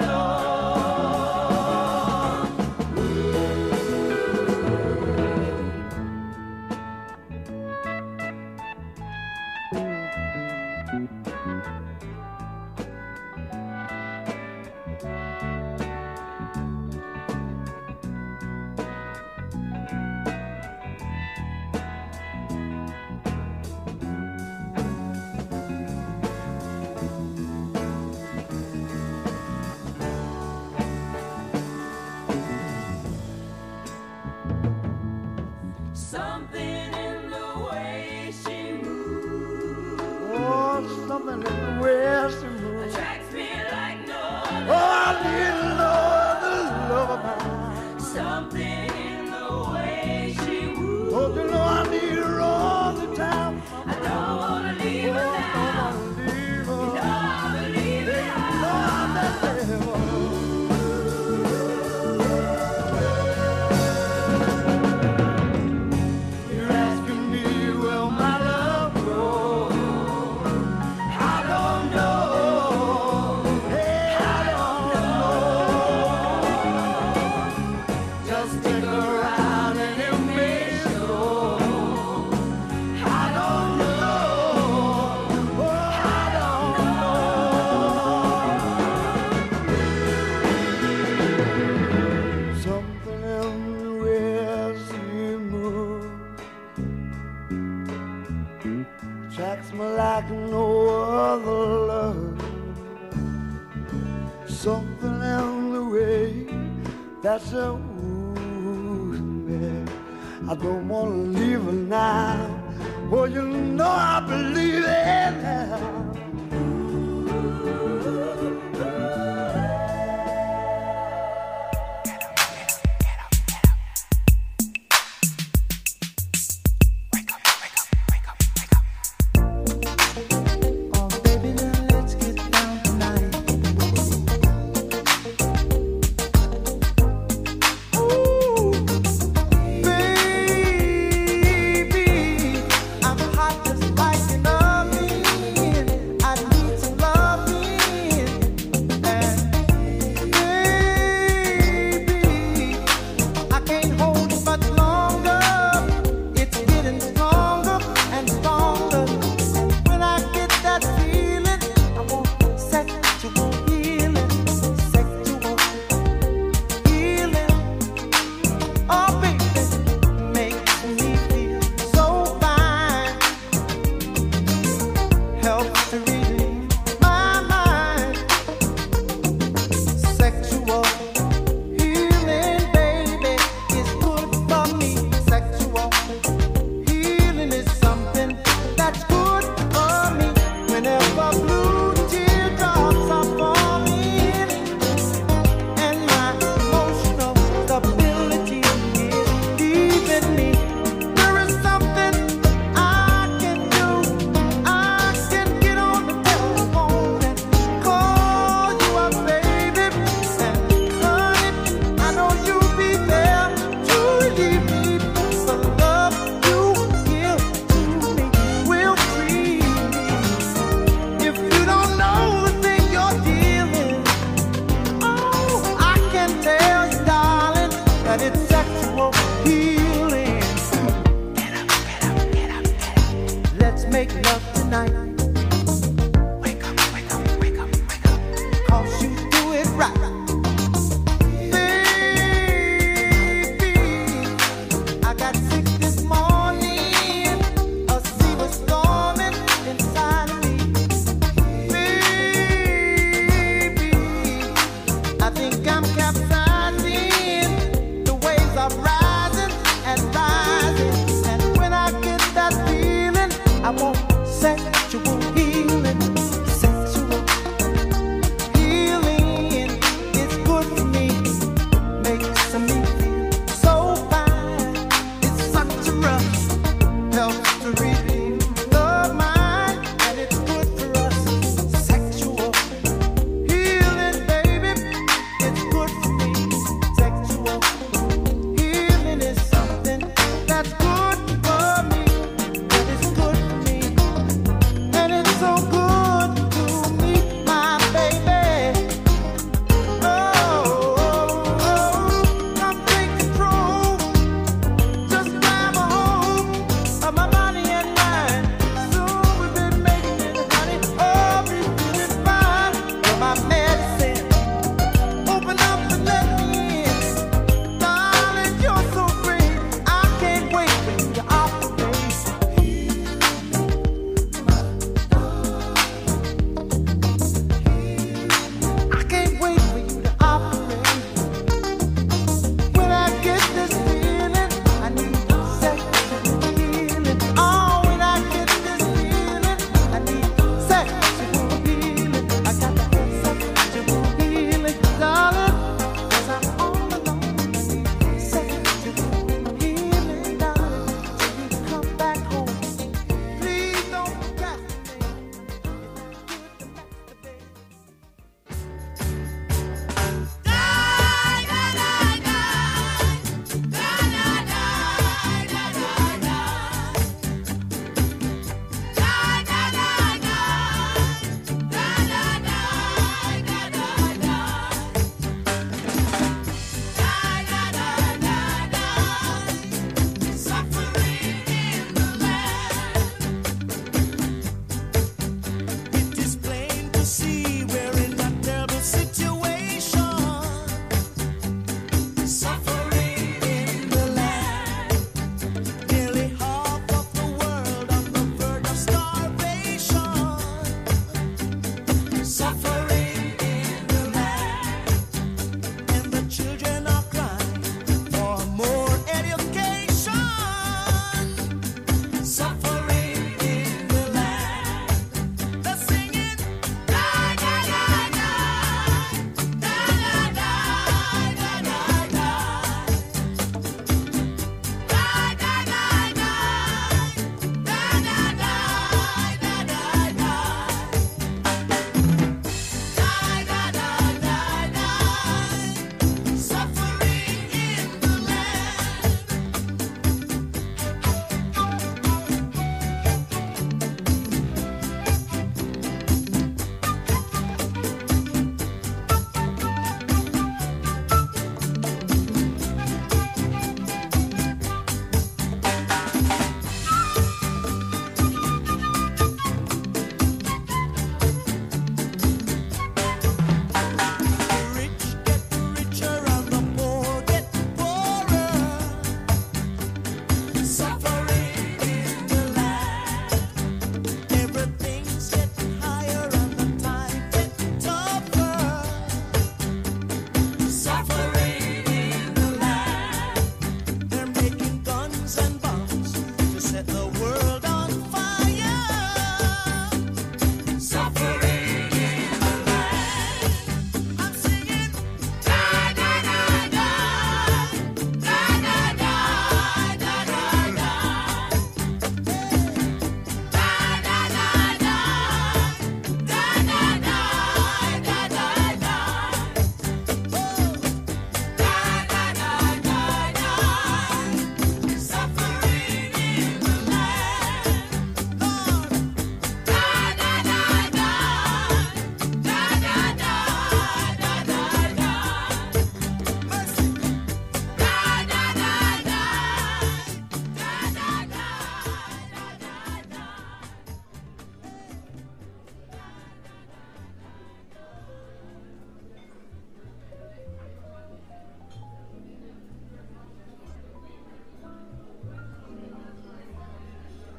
Something in the way she moves oh, something in the way she moves attracts me like no oh, I need no other love of mine. Something in the way she moves. Oh, you know I need her all the time. I don't wanna leave her now. Leave her. You know I believe in her. You're asking me, will my love grow? I don't know. Hey, I don't know. Just stick around and you make sure. I don't know. Oh, I don't know. Something in the way she moves attracts me like no other love. Something in the way that she moves me, I don't wanna leave her now. Oh, you know I believe in her. Oh, baby, now let's get down tonight. Ooh, baby, I'm hot just like an oven. let's make love tonight. Wake up, wake up, wake up, wake up. 'Cause you do it right. Baby, I got sick this morning. A sea was storming inside of me. Baby, I think I'm capsizing. The waves are rising and rising. And when I get that feeling, I want sexual healing. Sexual healing is good for me. Makes me feel so fine. It's such a rush. Helps to relieve the mind. And it's good for us. Sexual healing, baby. It's good for me. Sexual healing is something that's good for me. That is good for me.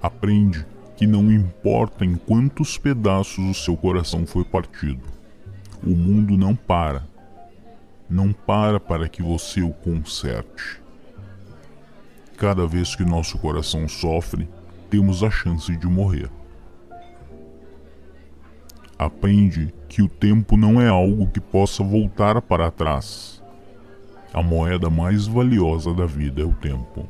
Aprende que não importa em quantos pedaços o seu coração foi partido, o mundo não para. Não para que você o conserte. Cada vez que nosso coração sofre, temos a chance de morrer. Aprende que o tempo não é algo que possa voltar para trás. A moeda mais valiosa da vida é o tempo.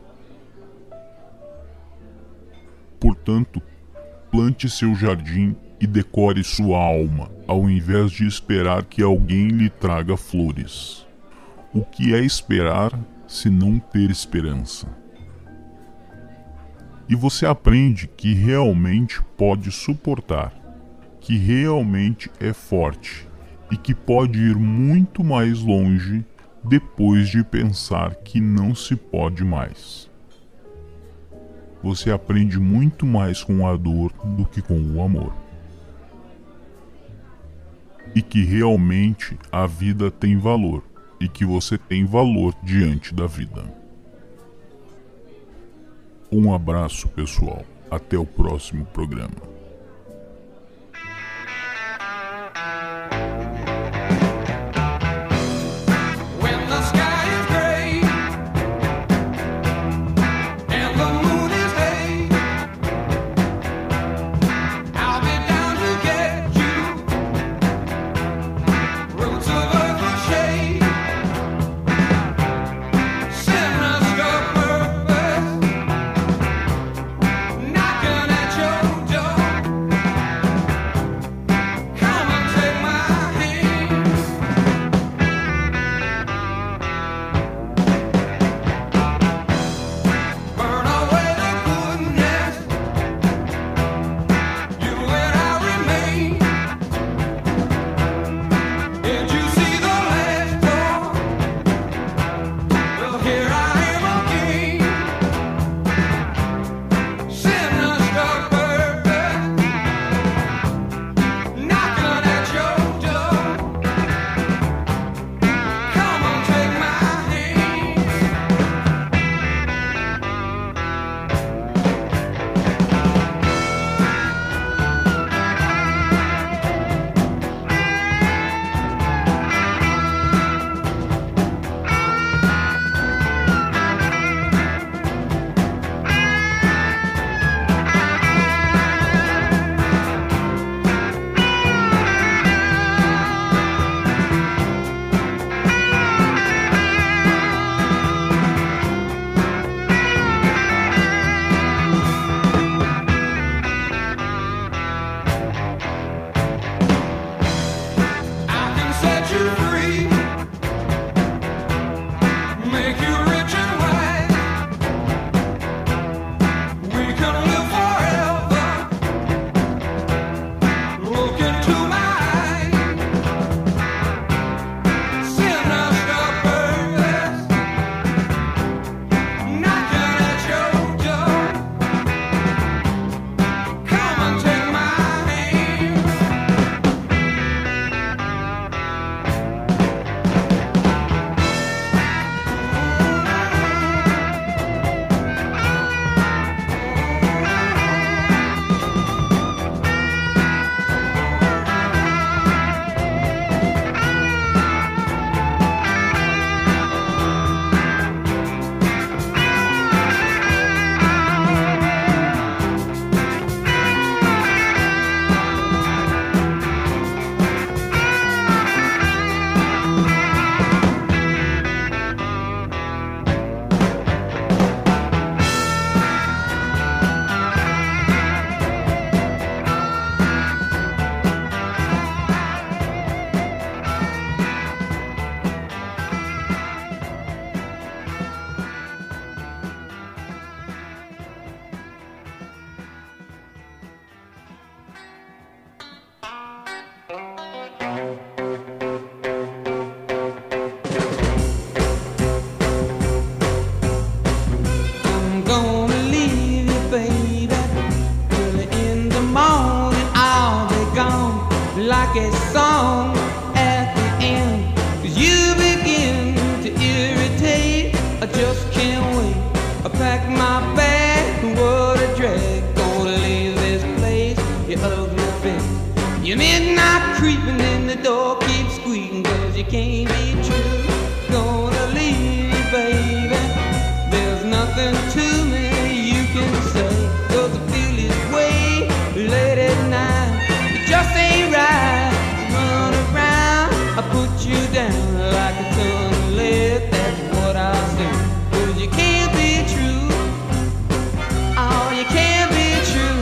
Portanto, plante seu jardim e decore sua alma, ao invés de esperar que alguém lhe traga flores. O que é esperar se não ter esperança? E você aprende que realmente pode suportar, que realmente é forte e que pode ir muito mais longe depois de pensar que não se pode mais. Você aprende muito mais com a dor do que com o amor. E que realmente a vida tem valor e que você tem valor diante da vida. Um abraço, pessoal. Até o próximo programa. Knocking at your door. you ugly thing. Your midnight creeping in the door keeps squeaking, 'cause you can't be true. Gonna leave you, baby. There's nothing to me you can say, 'cause I feel this way late at night. It just ain't right. Run around, I put you down like a ton of lead. That's what I'll say. 'Cause you can't be true. Oh, you can't be true.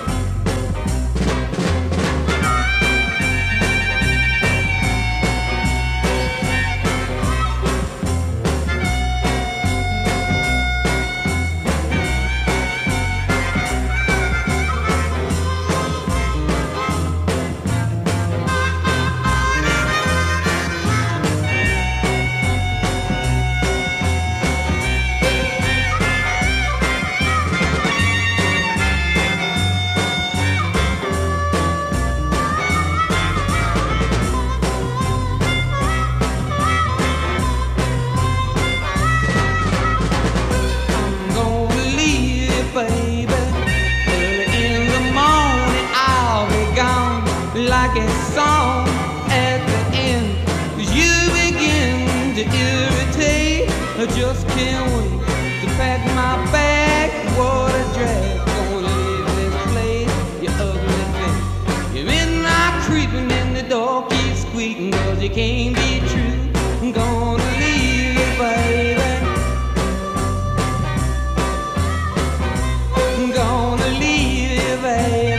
Like a song at the end, 'cause you begin to irritate. I just can't wait to pack my bag. What a drag, gonna leave this place, you ugly thing. Your midnight creeping in the door keeps squeaking, 'cause you can't be true. I'm gonna leave you, baby. I'm gonna leave you, baby.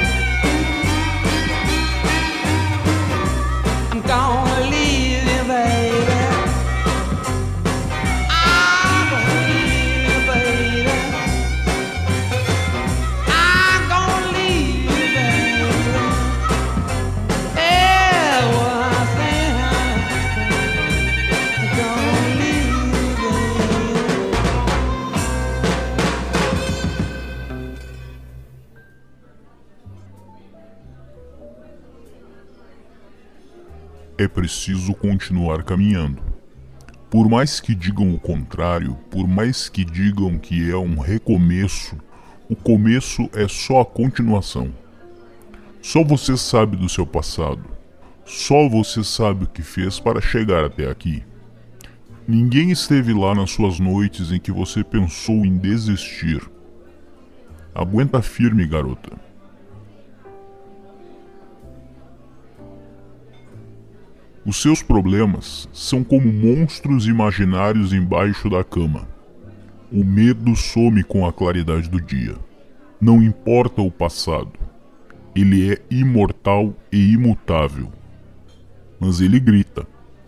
Gonna leave you, baby. I'm gonna leave you, baby. I'm gonna leave you, baby. Yeah, what I say, I'm gonna leave you, baby. É preciso continuar caminhando. Por mais que digam o contrário, por mais que digam que é um recomeço, o começo é só a continuação. Só você sabe do seu passado. Só você sabe o que fez para chegar até aqui. Ninguém esteve lá nas suas noites em que você pensou em desistir. Aguenta firme, garota. Os seus problemas são como monstros imaginários embaixo da cama. O medo some com a claridade do dia. Não importa o passado. Ele é imortal e imutável. Mas ele grita.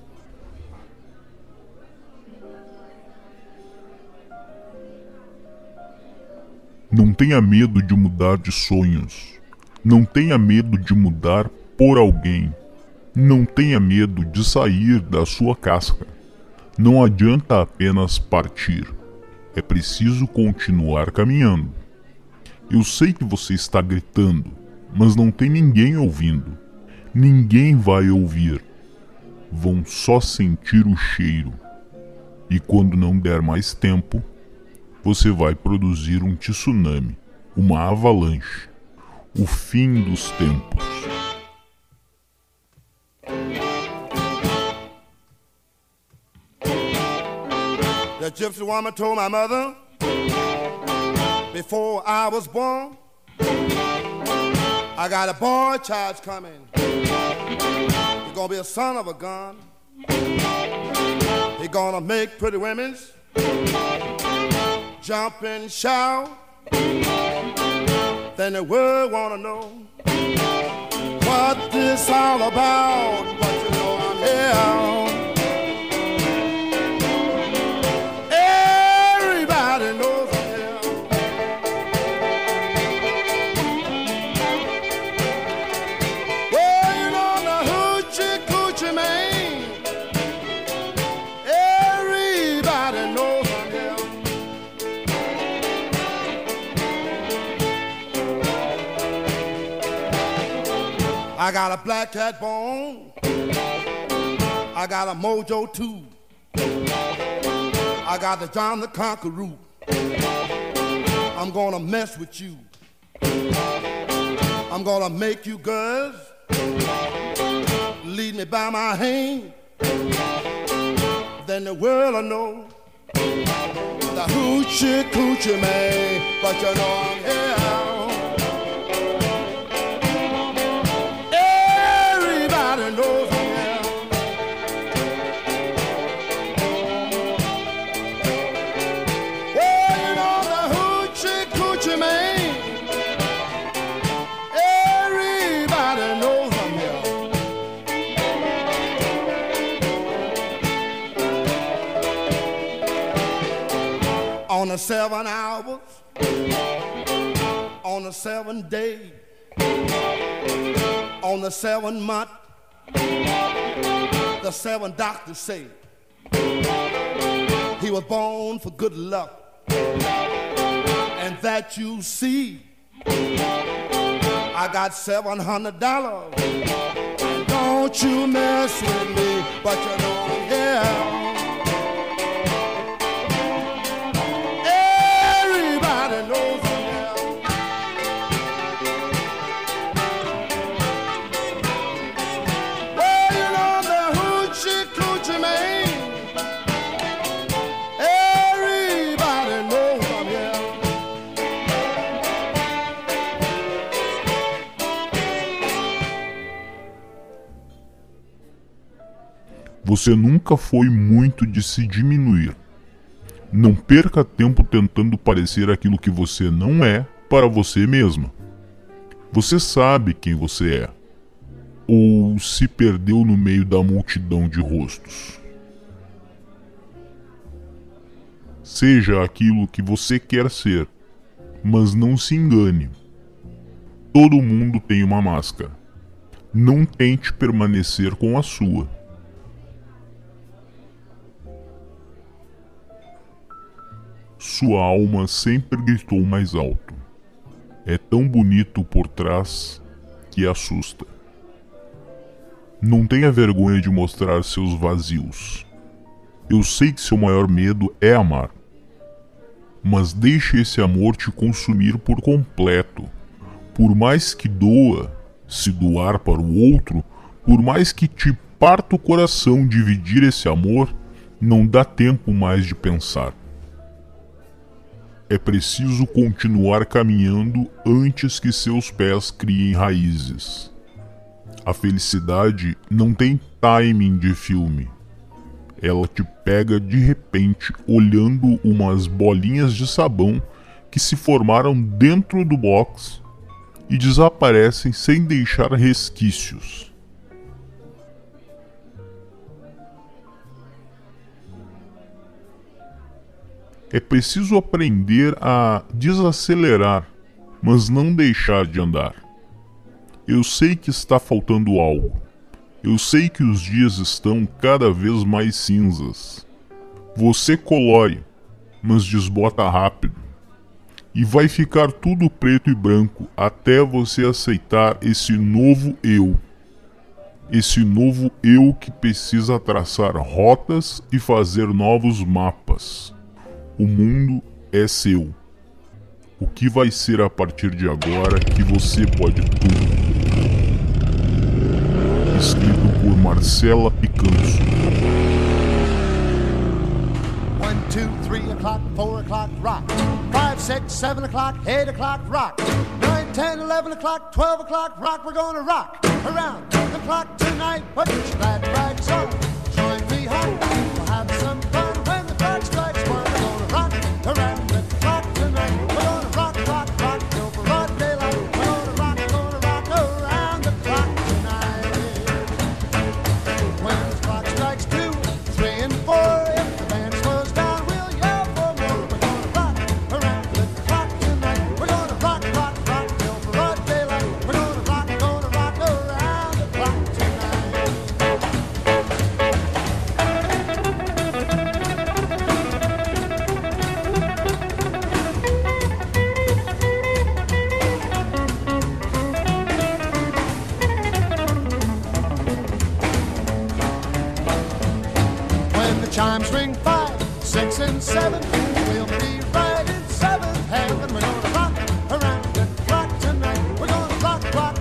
Não tenha medo de mudar de sonhos. Não tenha medo de mudar por alguém. Não tenha medo de sair da sua casca. Não adianta apenas partir. É preciso continuar caminhando. Eu sei que você está gritando, mas não tem ninguém ouvindo. Ninguém vai ouvir. Vão só sentir o cheiro. E quando não der mais tempo, você vai produzir um tsunami, uma avalanche, o fim dos tempos. The gypsy woman told my mother before I was born, I got a boy child coming. He's gonna be a son of a gun. He's gonna make pretty women jump and shout. Then the world wanna know what this all about. But you know I'm here. Everybody knows I'm here. Well, you know the hoochie coochie man. Everybody knows I'm here. I got a black cat bone. I got a mojo too. I got the John the Conqueror. I'm gonna mess with you. I'm gonna make you girls lead me by my hand. Then the world will know the hoochie coochie man. But you know I'm here. Everybody knows I'm here. Oh, you know the hoochie coochie man. Everybody knows I'm here. On the 7 hours, on the 7 days, on the 7 month, the 7 doctors say he was born for good luck, and that you see I got $700, and don't you mess with me, but you know I'm here. Você nunca foi muito de se diminuir. Não perca tempo tentando parecer aquilo que você não é para você mesma. Você sabe quem você é. Ou se perdeu no meio da multidão de rostos. Seja aquilo que você quer ser, mas não se engane. Todo mundo tem uma máscara. Não tente permanecer com a sua. Sua alma sempre gritou mais alto. É tão bonito por trás que assusta. Não tenha vergonha de mostrar seus vazios. Eu sei que seu maior medo é amar. Mas deixe esse amor te consumir por completo. Por mais que doa, se doar para o outro, por mais que te parta o coração dividir esse amor, não dá tempo mais de pensar. É preciso continuar caminhando antes que seus pés criem raízes. A felicidade não tem timing de filme. Ela te pega de repente olhando umas bolinhas de sabão que se formaram dentro do box e desaparecem sem deixar resquícios. É preciso aprender a desacelerar, mas não deixar de andar. Eu sei que está faltando algo. Eu sei que os dias estão cada vez mais cinzas. Você colore, mas desbota rápido. E vai ficar tudo preto e branco até você aceitar esse novo eu. Esse novo eu que precisa traçar rotas e fazer novos mapas. O mundo é seu. O que vai ser a partir de agora que você pode tudo? Escrito por Marcela Picanso. 1, 2, 3 o'clock, 4 o'clock, rock. 5, 6, 7 o'clock, 8 o'clock, rock. 9, 10, 11 o'clock, 12 o'clock, rock. We're gonna rock around the clock tonight. Put your glad rags on, join me home. We'll have some fun when the clock strikes 1. We're gonna rock around the clock tonight. We're gonna rock, rock, rock till broad daylight. We're gonna rock around the clock tonight. When the clock strikes 2, 3 and 4, if the band slows down, we'll yell for more. We're gonna rock around the clock tonight. We're gonna rock, rock, rock till broad daylight. We're gonna rock around the clock tonight. When the chimes ring 5, 6 and 7, we'll be right in 7th heaven. We're gonna rock around the clock tonight. We're gonna rock, rock,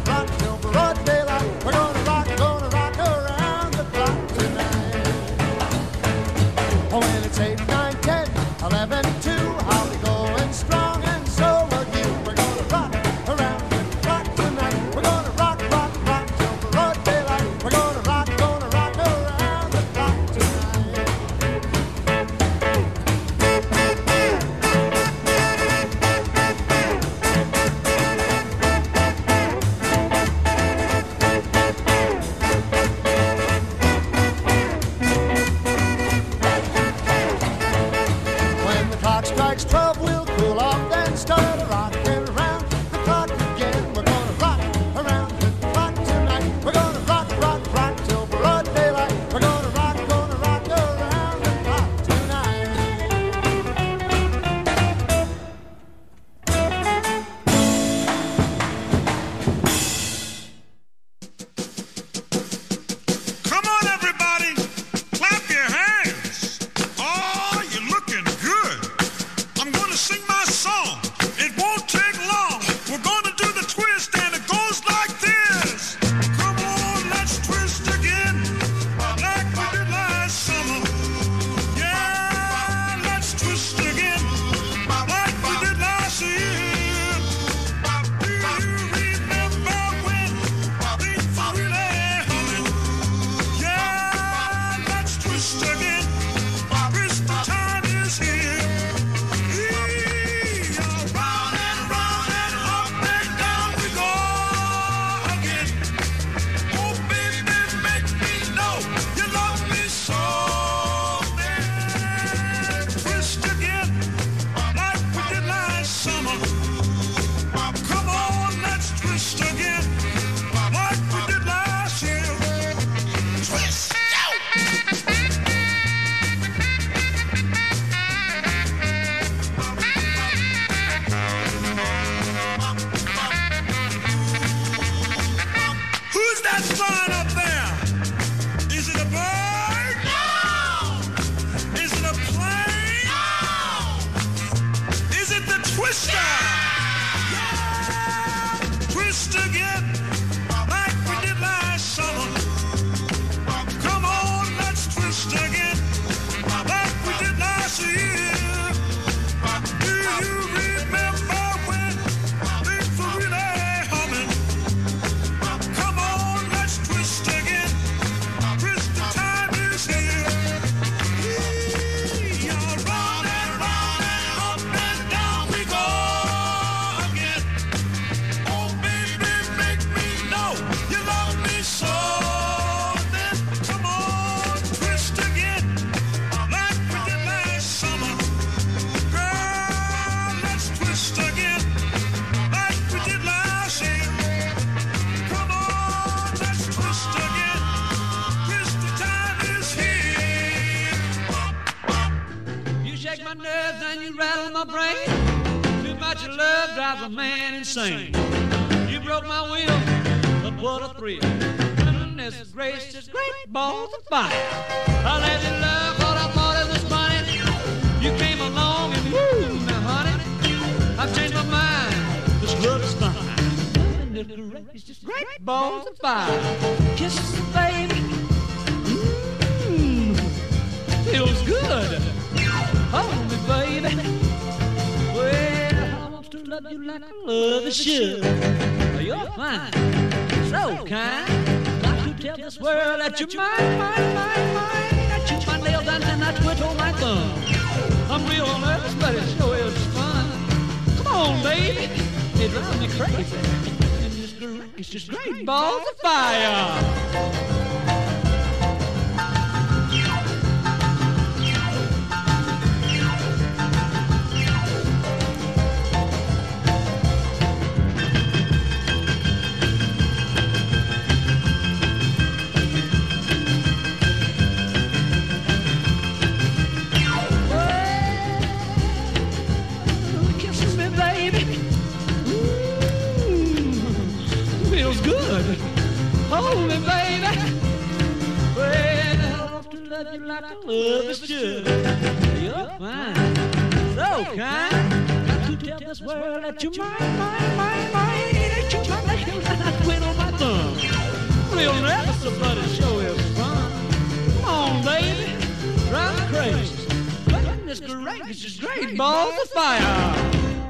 drives a man insane. You broke my will, but what a thrill. Goodness gracious, great balls of fire. I let you love what I thought it was funny. You came along and woo, now honey, I've changed my mind. This love is fine. Goodness gracious, great balls of fire. Kisses, baby. Feels good. Hold me, baby. Well, I want to love you like I love you should. You're fine, so kind. Got to tell this world that you're mine. I chew my nails and I twiddle my thumb. I'm real nervous, but it sure is fun. Come on, baby, it drives me crazy. And it's just great balls of fire. Hold me, baby. Well, I want to love you like I love you should. You're fine, so kind. Got to tell this world that you're mine. That you're my nails and I twiddle my thumb. Real nervous, but it sure is fun. Come on, baby, drive me crazy. Goodness gracious, great balls of fire.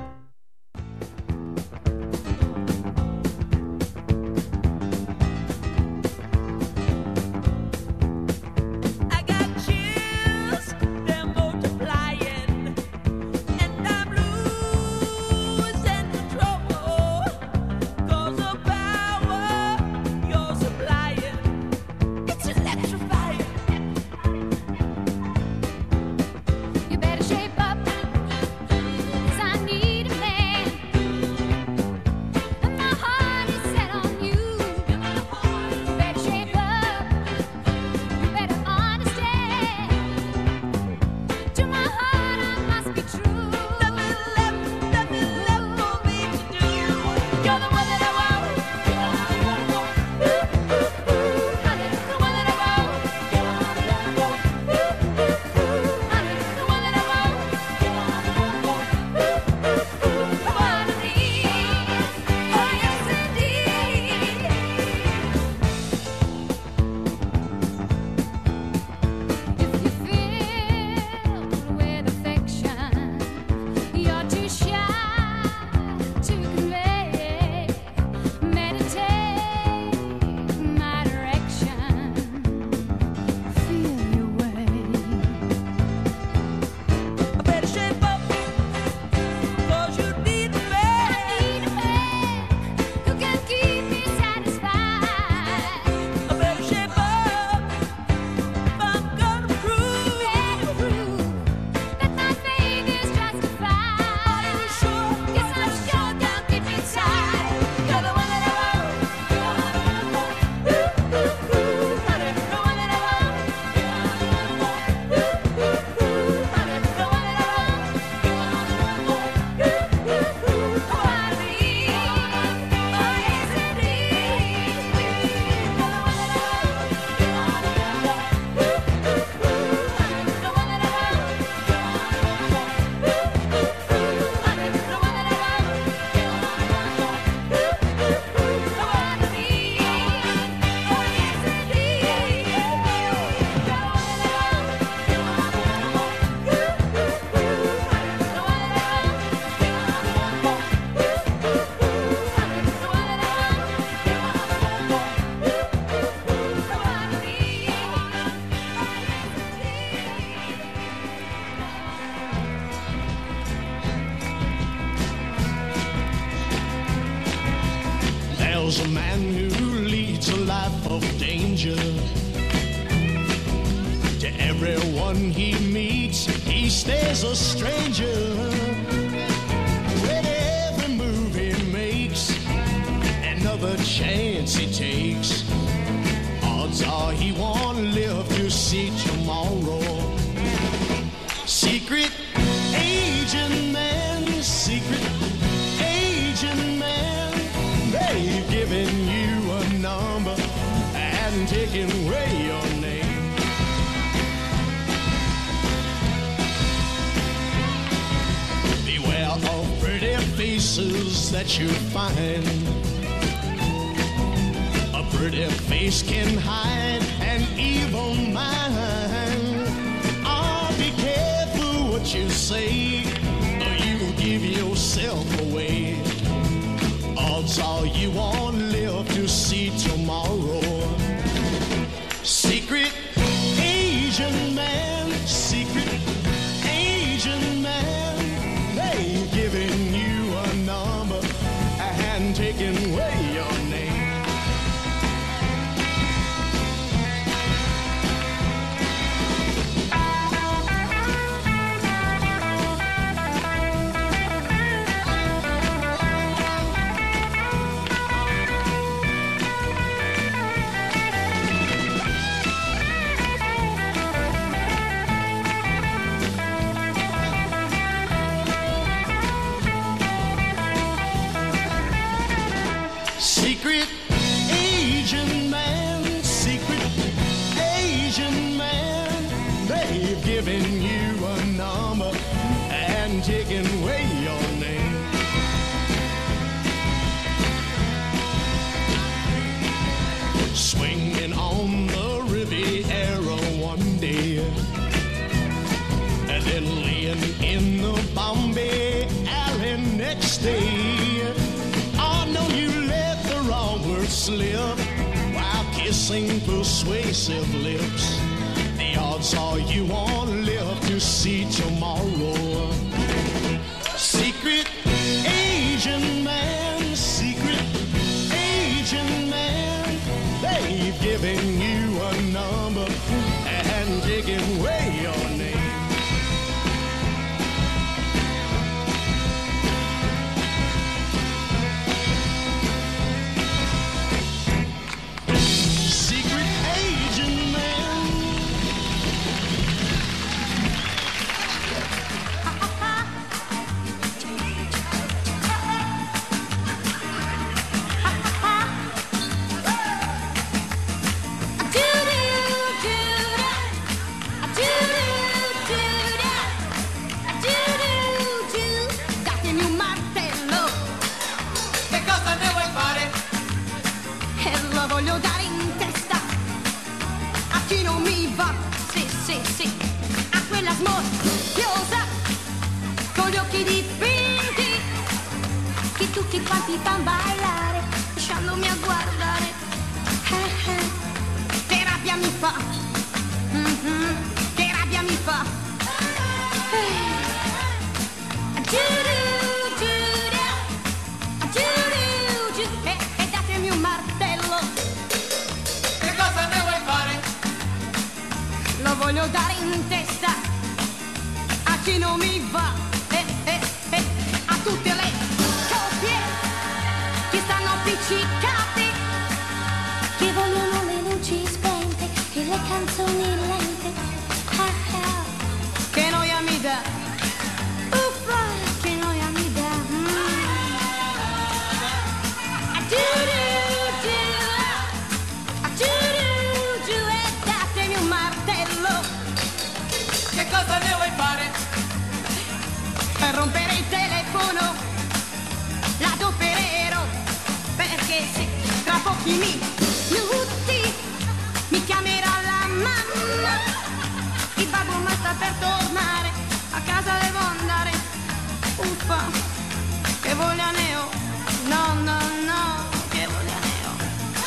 There's a man who leads a life of danger. To everyone he meets, he stays a stranger. With every move he makes, another chance he takes, odds are he won't live to see tomorrow. Secret agent man, secret agent They've given you a number and taken away your name. Beware of pretty faces that you find. A pretty face can hide an evil mind. Oh, be careful what you say, or you give yourself away. Odds are you won't live to see tomorrow. Secret Asian man, secret Asian man, they've given you a number and taken away your name. Secret Asian man, secret Asian man, they've given you a number and taken away your name. Swinging on the Riviera one day, and then laying in the Bombay alley next day. Oh no, you let the wrong word slip while kissing persuasive lips. The odds are you won't live to see tomorrow. Secret Asian man, secret Asian man, they've given you a number and taken away your name. Voglio dare in testa a chi non mi va, sì, sì, sì, a quella smorfiosa con gli occhi dipinti che tutti quanti fan ballare lasciandomi a guardare. Che rabbia mi fa, che rabbia mi fa. E datemi un martello. Che cosa ne vuoi fare? Lo voglio dare in testa a chi non mi va, a tutte le coppie che stanno appiccicate, che vogliono le luci spente e le canzoni lente. Che noia mi dà, uffa, che noia mi dà. E datemi un martello. Che cosa ne vuoi fare? Per rompere il telefono l'adopererò, perché se tra pochi minuti mi chiamerà la mamma, il babbo ma sta per tornare, a casa devo andare. Uffa, che voglia ne ho, no, no, no, che voglia ne ho.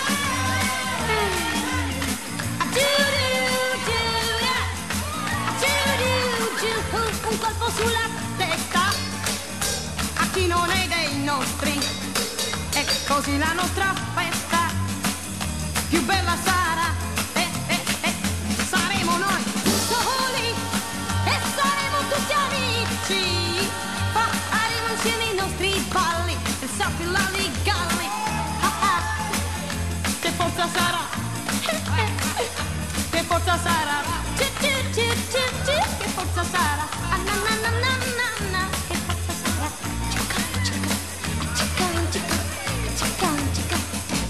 Un colpo sulla testa a chi non è dei nostri, e così la nostra festa più bella sarà, saremo noi soli e saremo tutti amici, faremo insieme i nostri balli e sappi l'alligalli. Che forza sarà, che forza sarà, che forza sarà. Che forza sarà. romântica.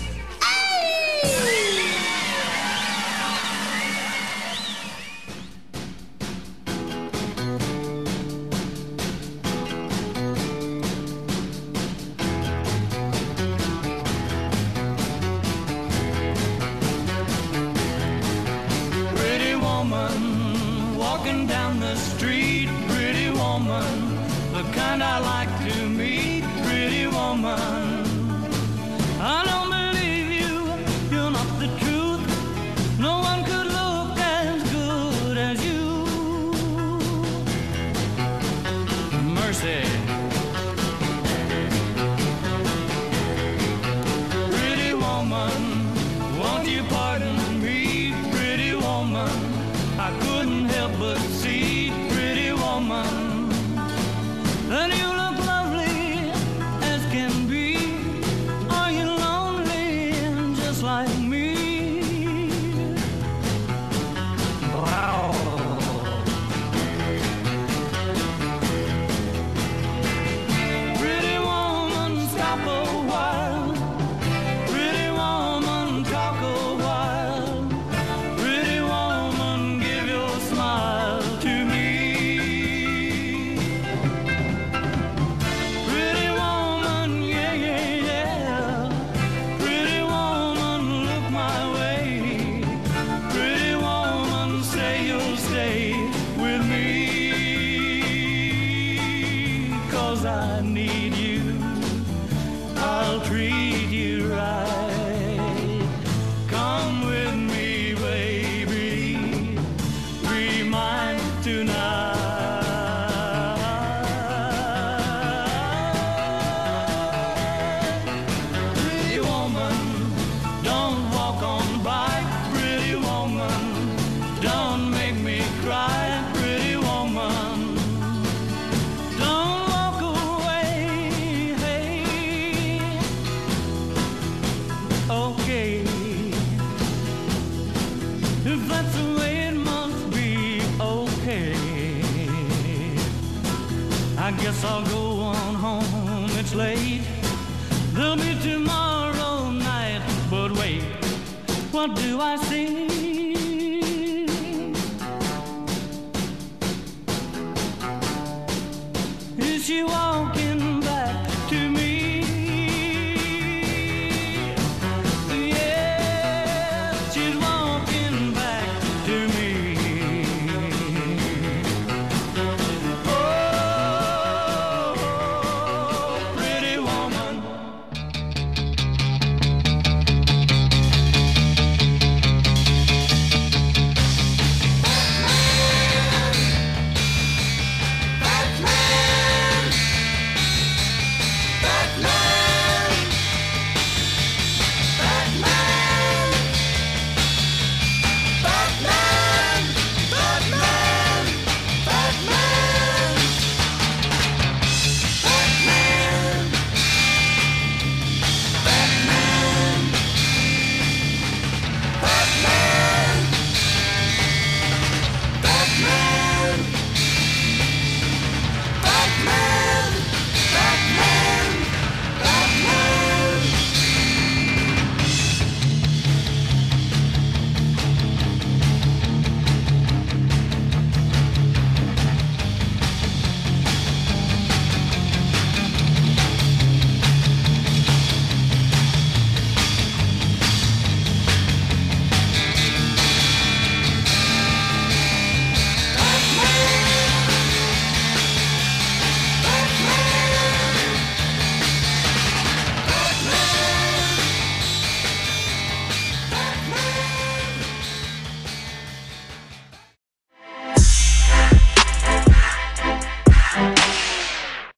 Pretty woman walking down the street, pretty woman, the kind I like to meet, pretty woman. I don't believe you, you're not the truth. No one could look as good as you. Mercy. Pretty woman, won't you pardon me, pretty woman? I couldn't help but see, pretty woman, that you look lovely as can be. Are you lonely just like me? Wow. Pretty woman, stop a while. Pretty woman, talk a while. Pretty woman, give your smile to me. Pretty woman, yeah, yeah, yeah. Pretty woman, look my way. Pretty woman, say you'll stay with me. 'Cause I need you, I'll treat you right. Come with me, baby, be mine tonight. Pretty woman, don't walk on by. Pretty woman, don't make me cry. Pretty woman, don't walk away. Hey, okay, if that's the way it must be, okay. I guess I'll go on home, it's late. There'll be tomorrow night, but wait, what do I see?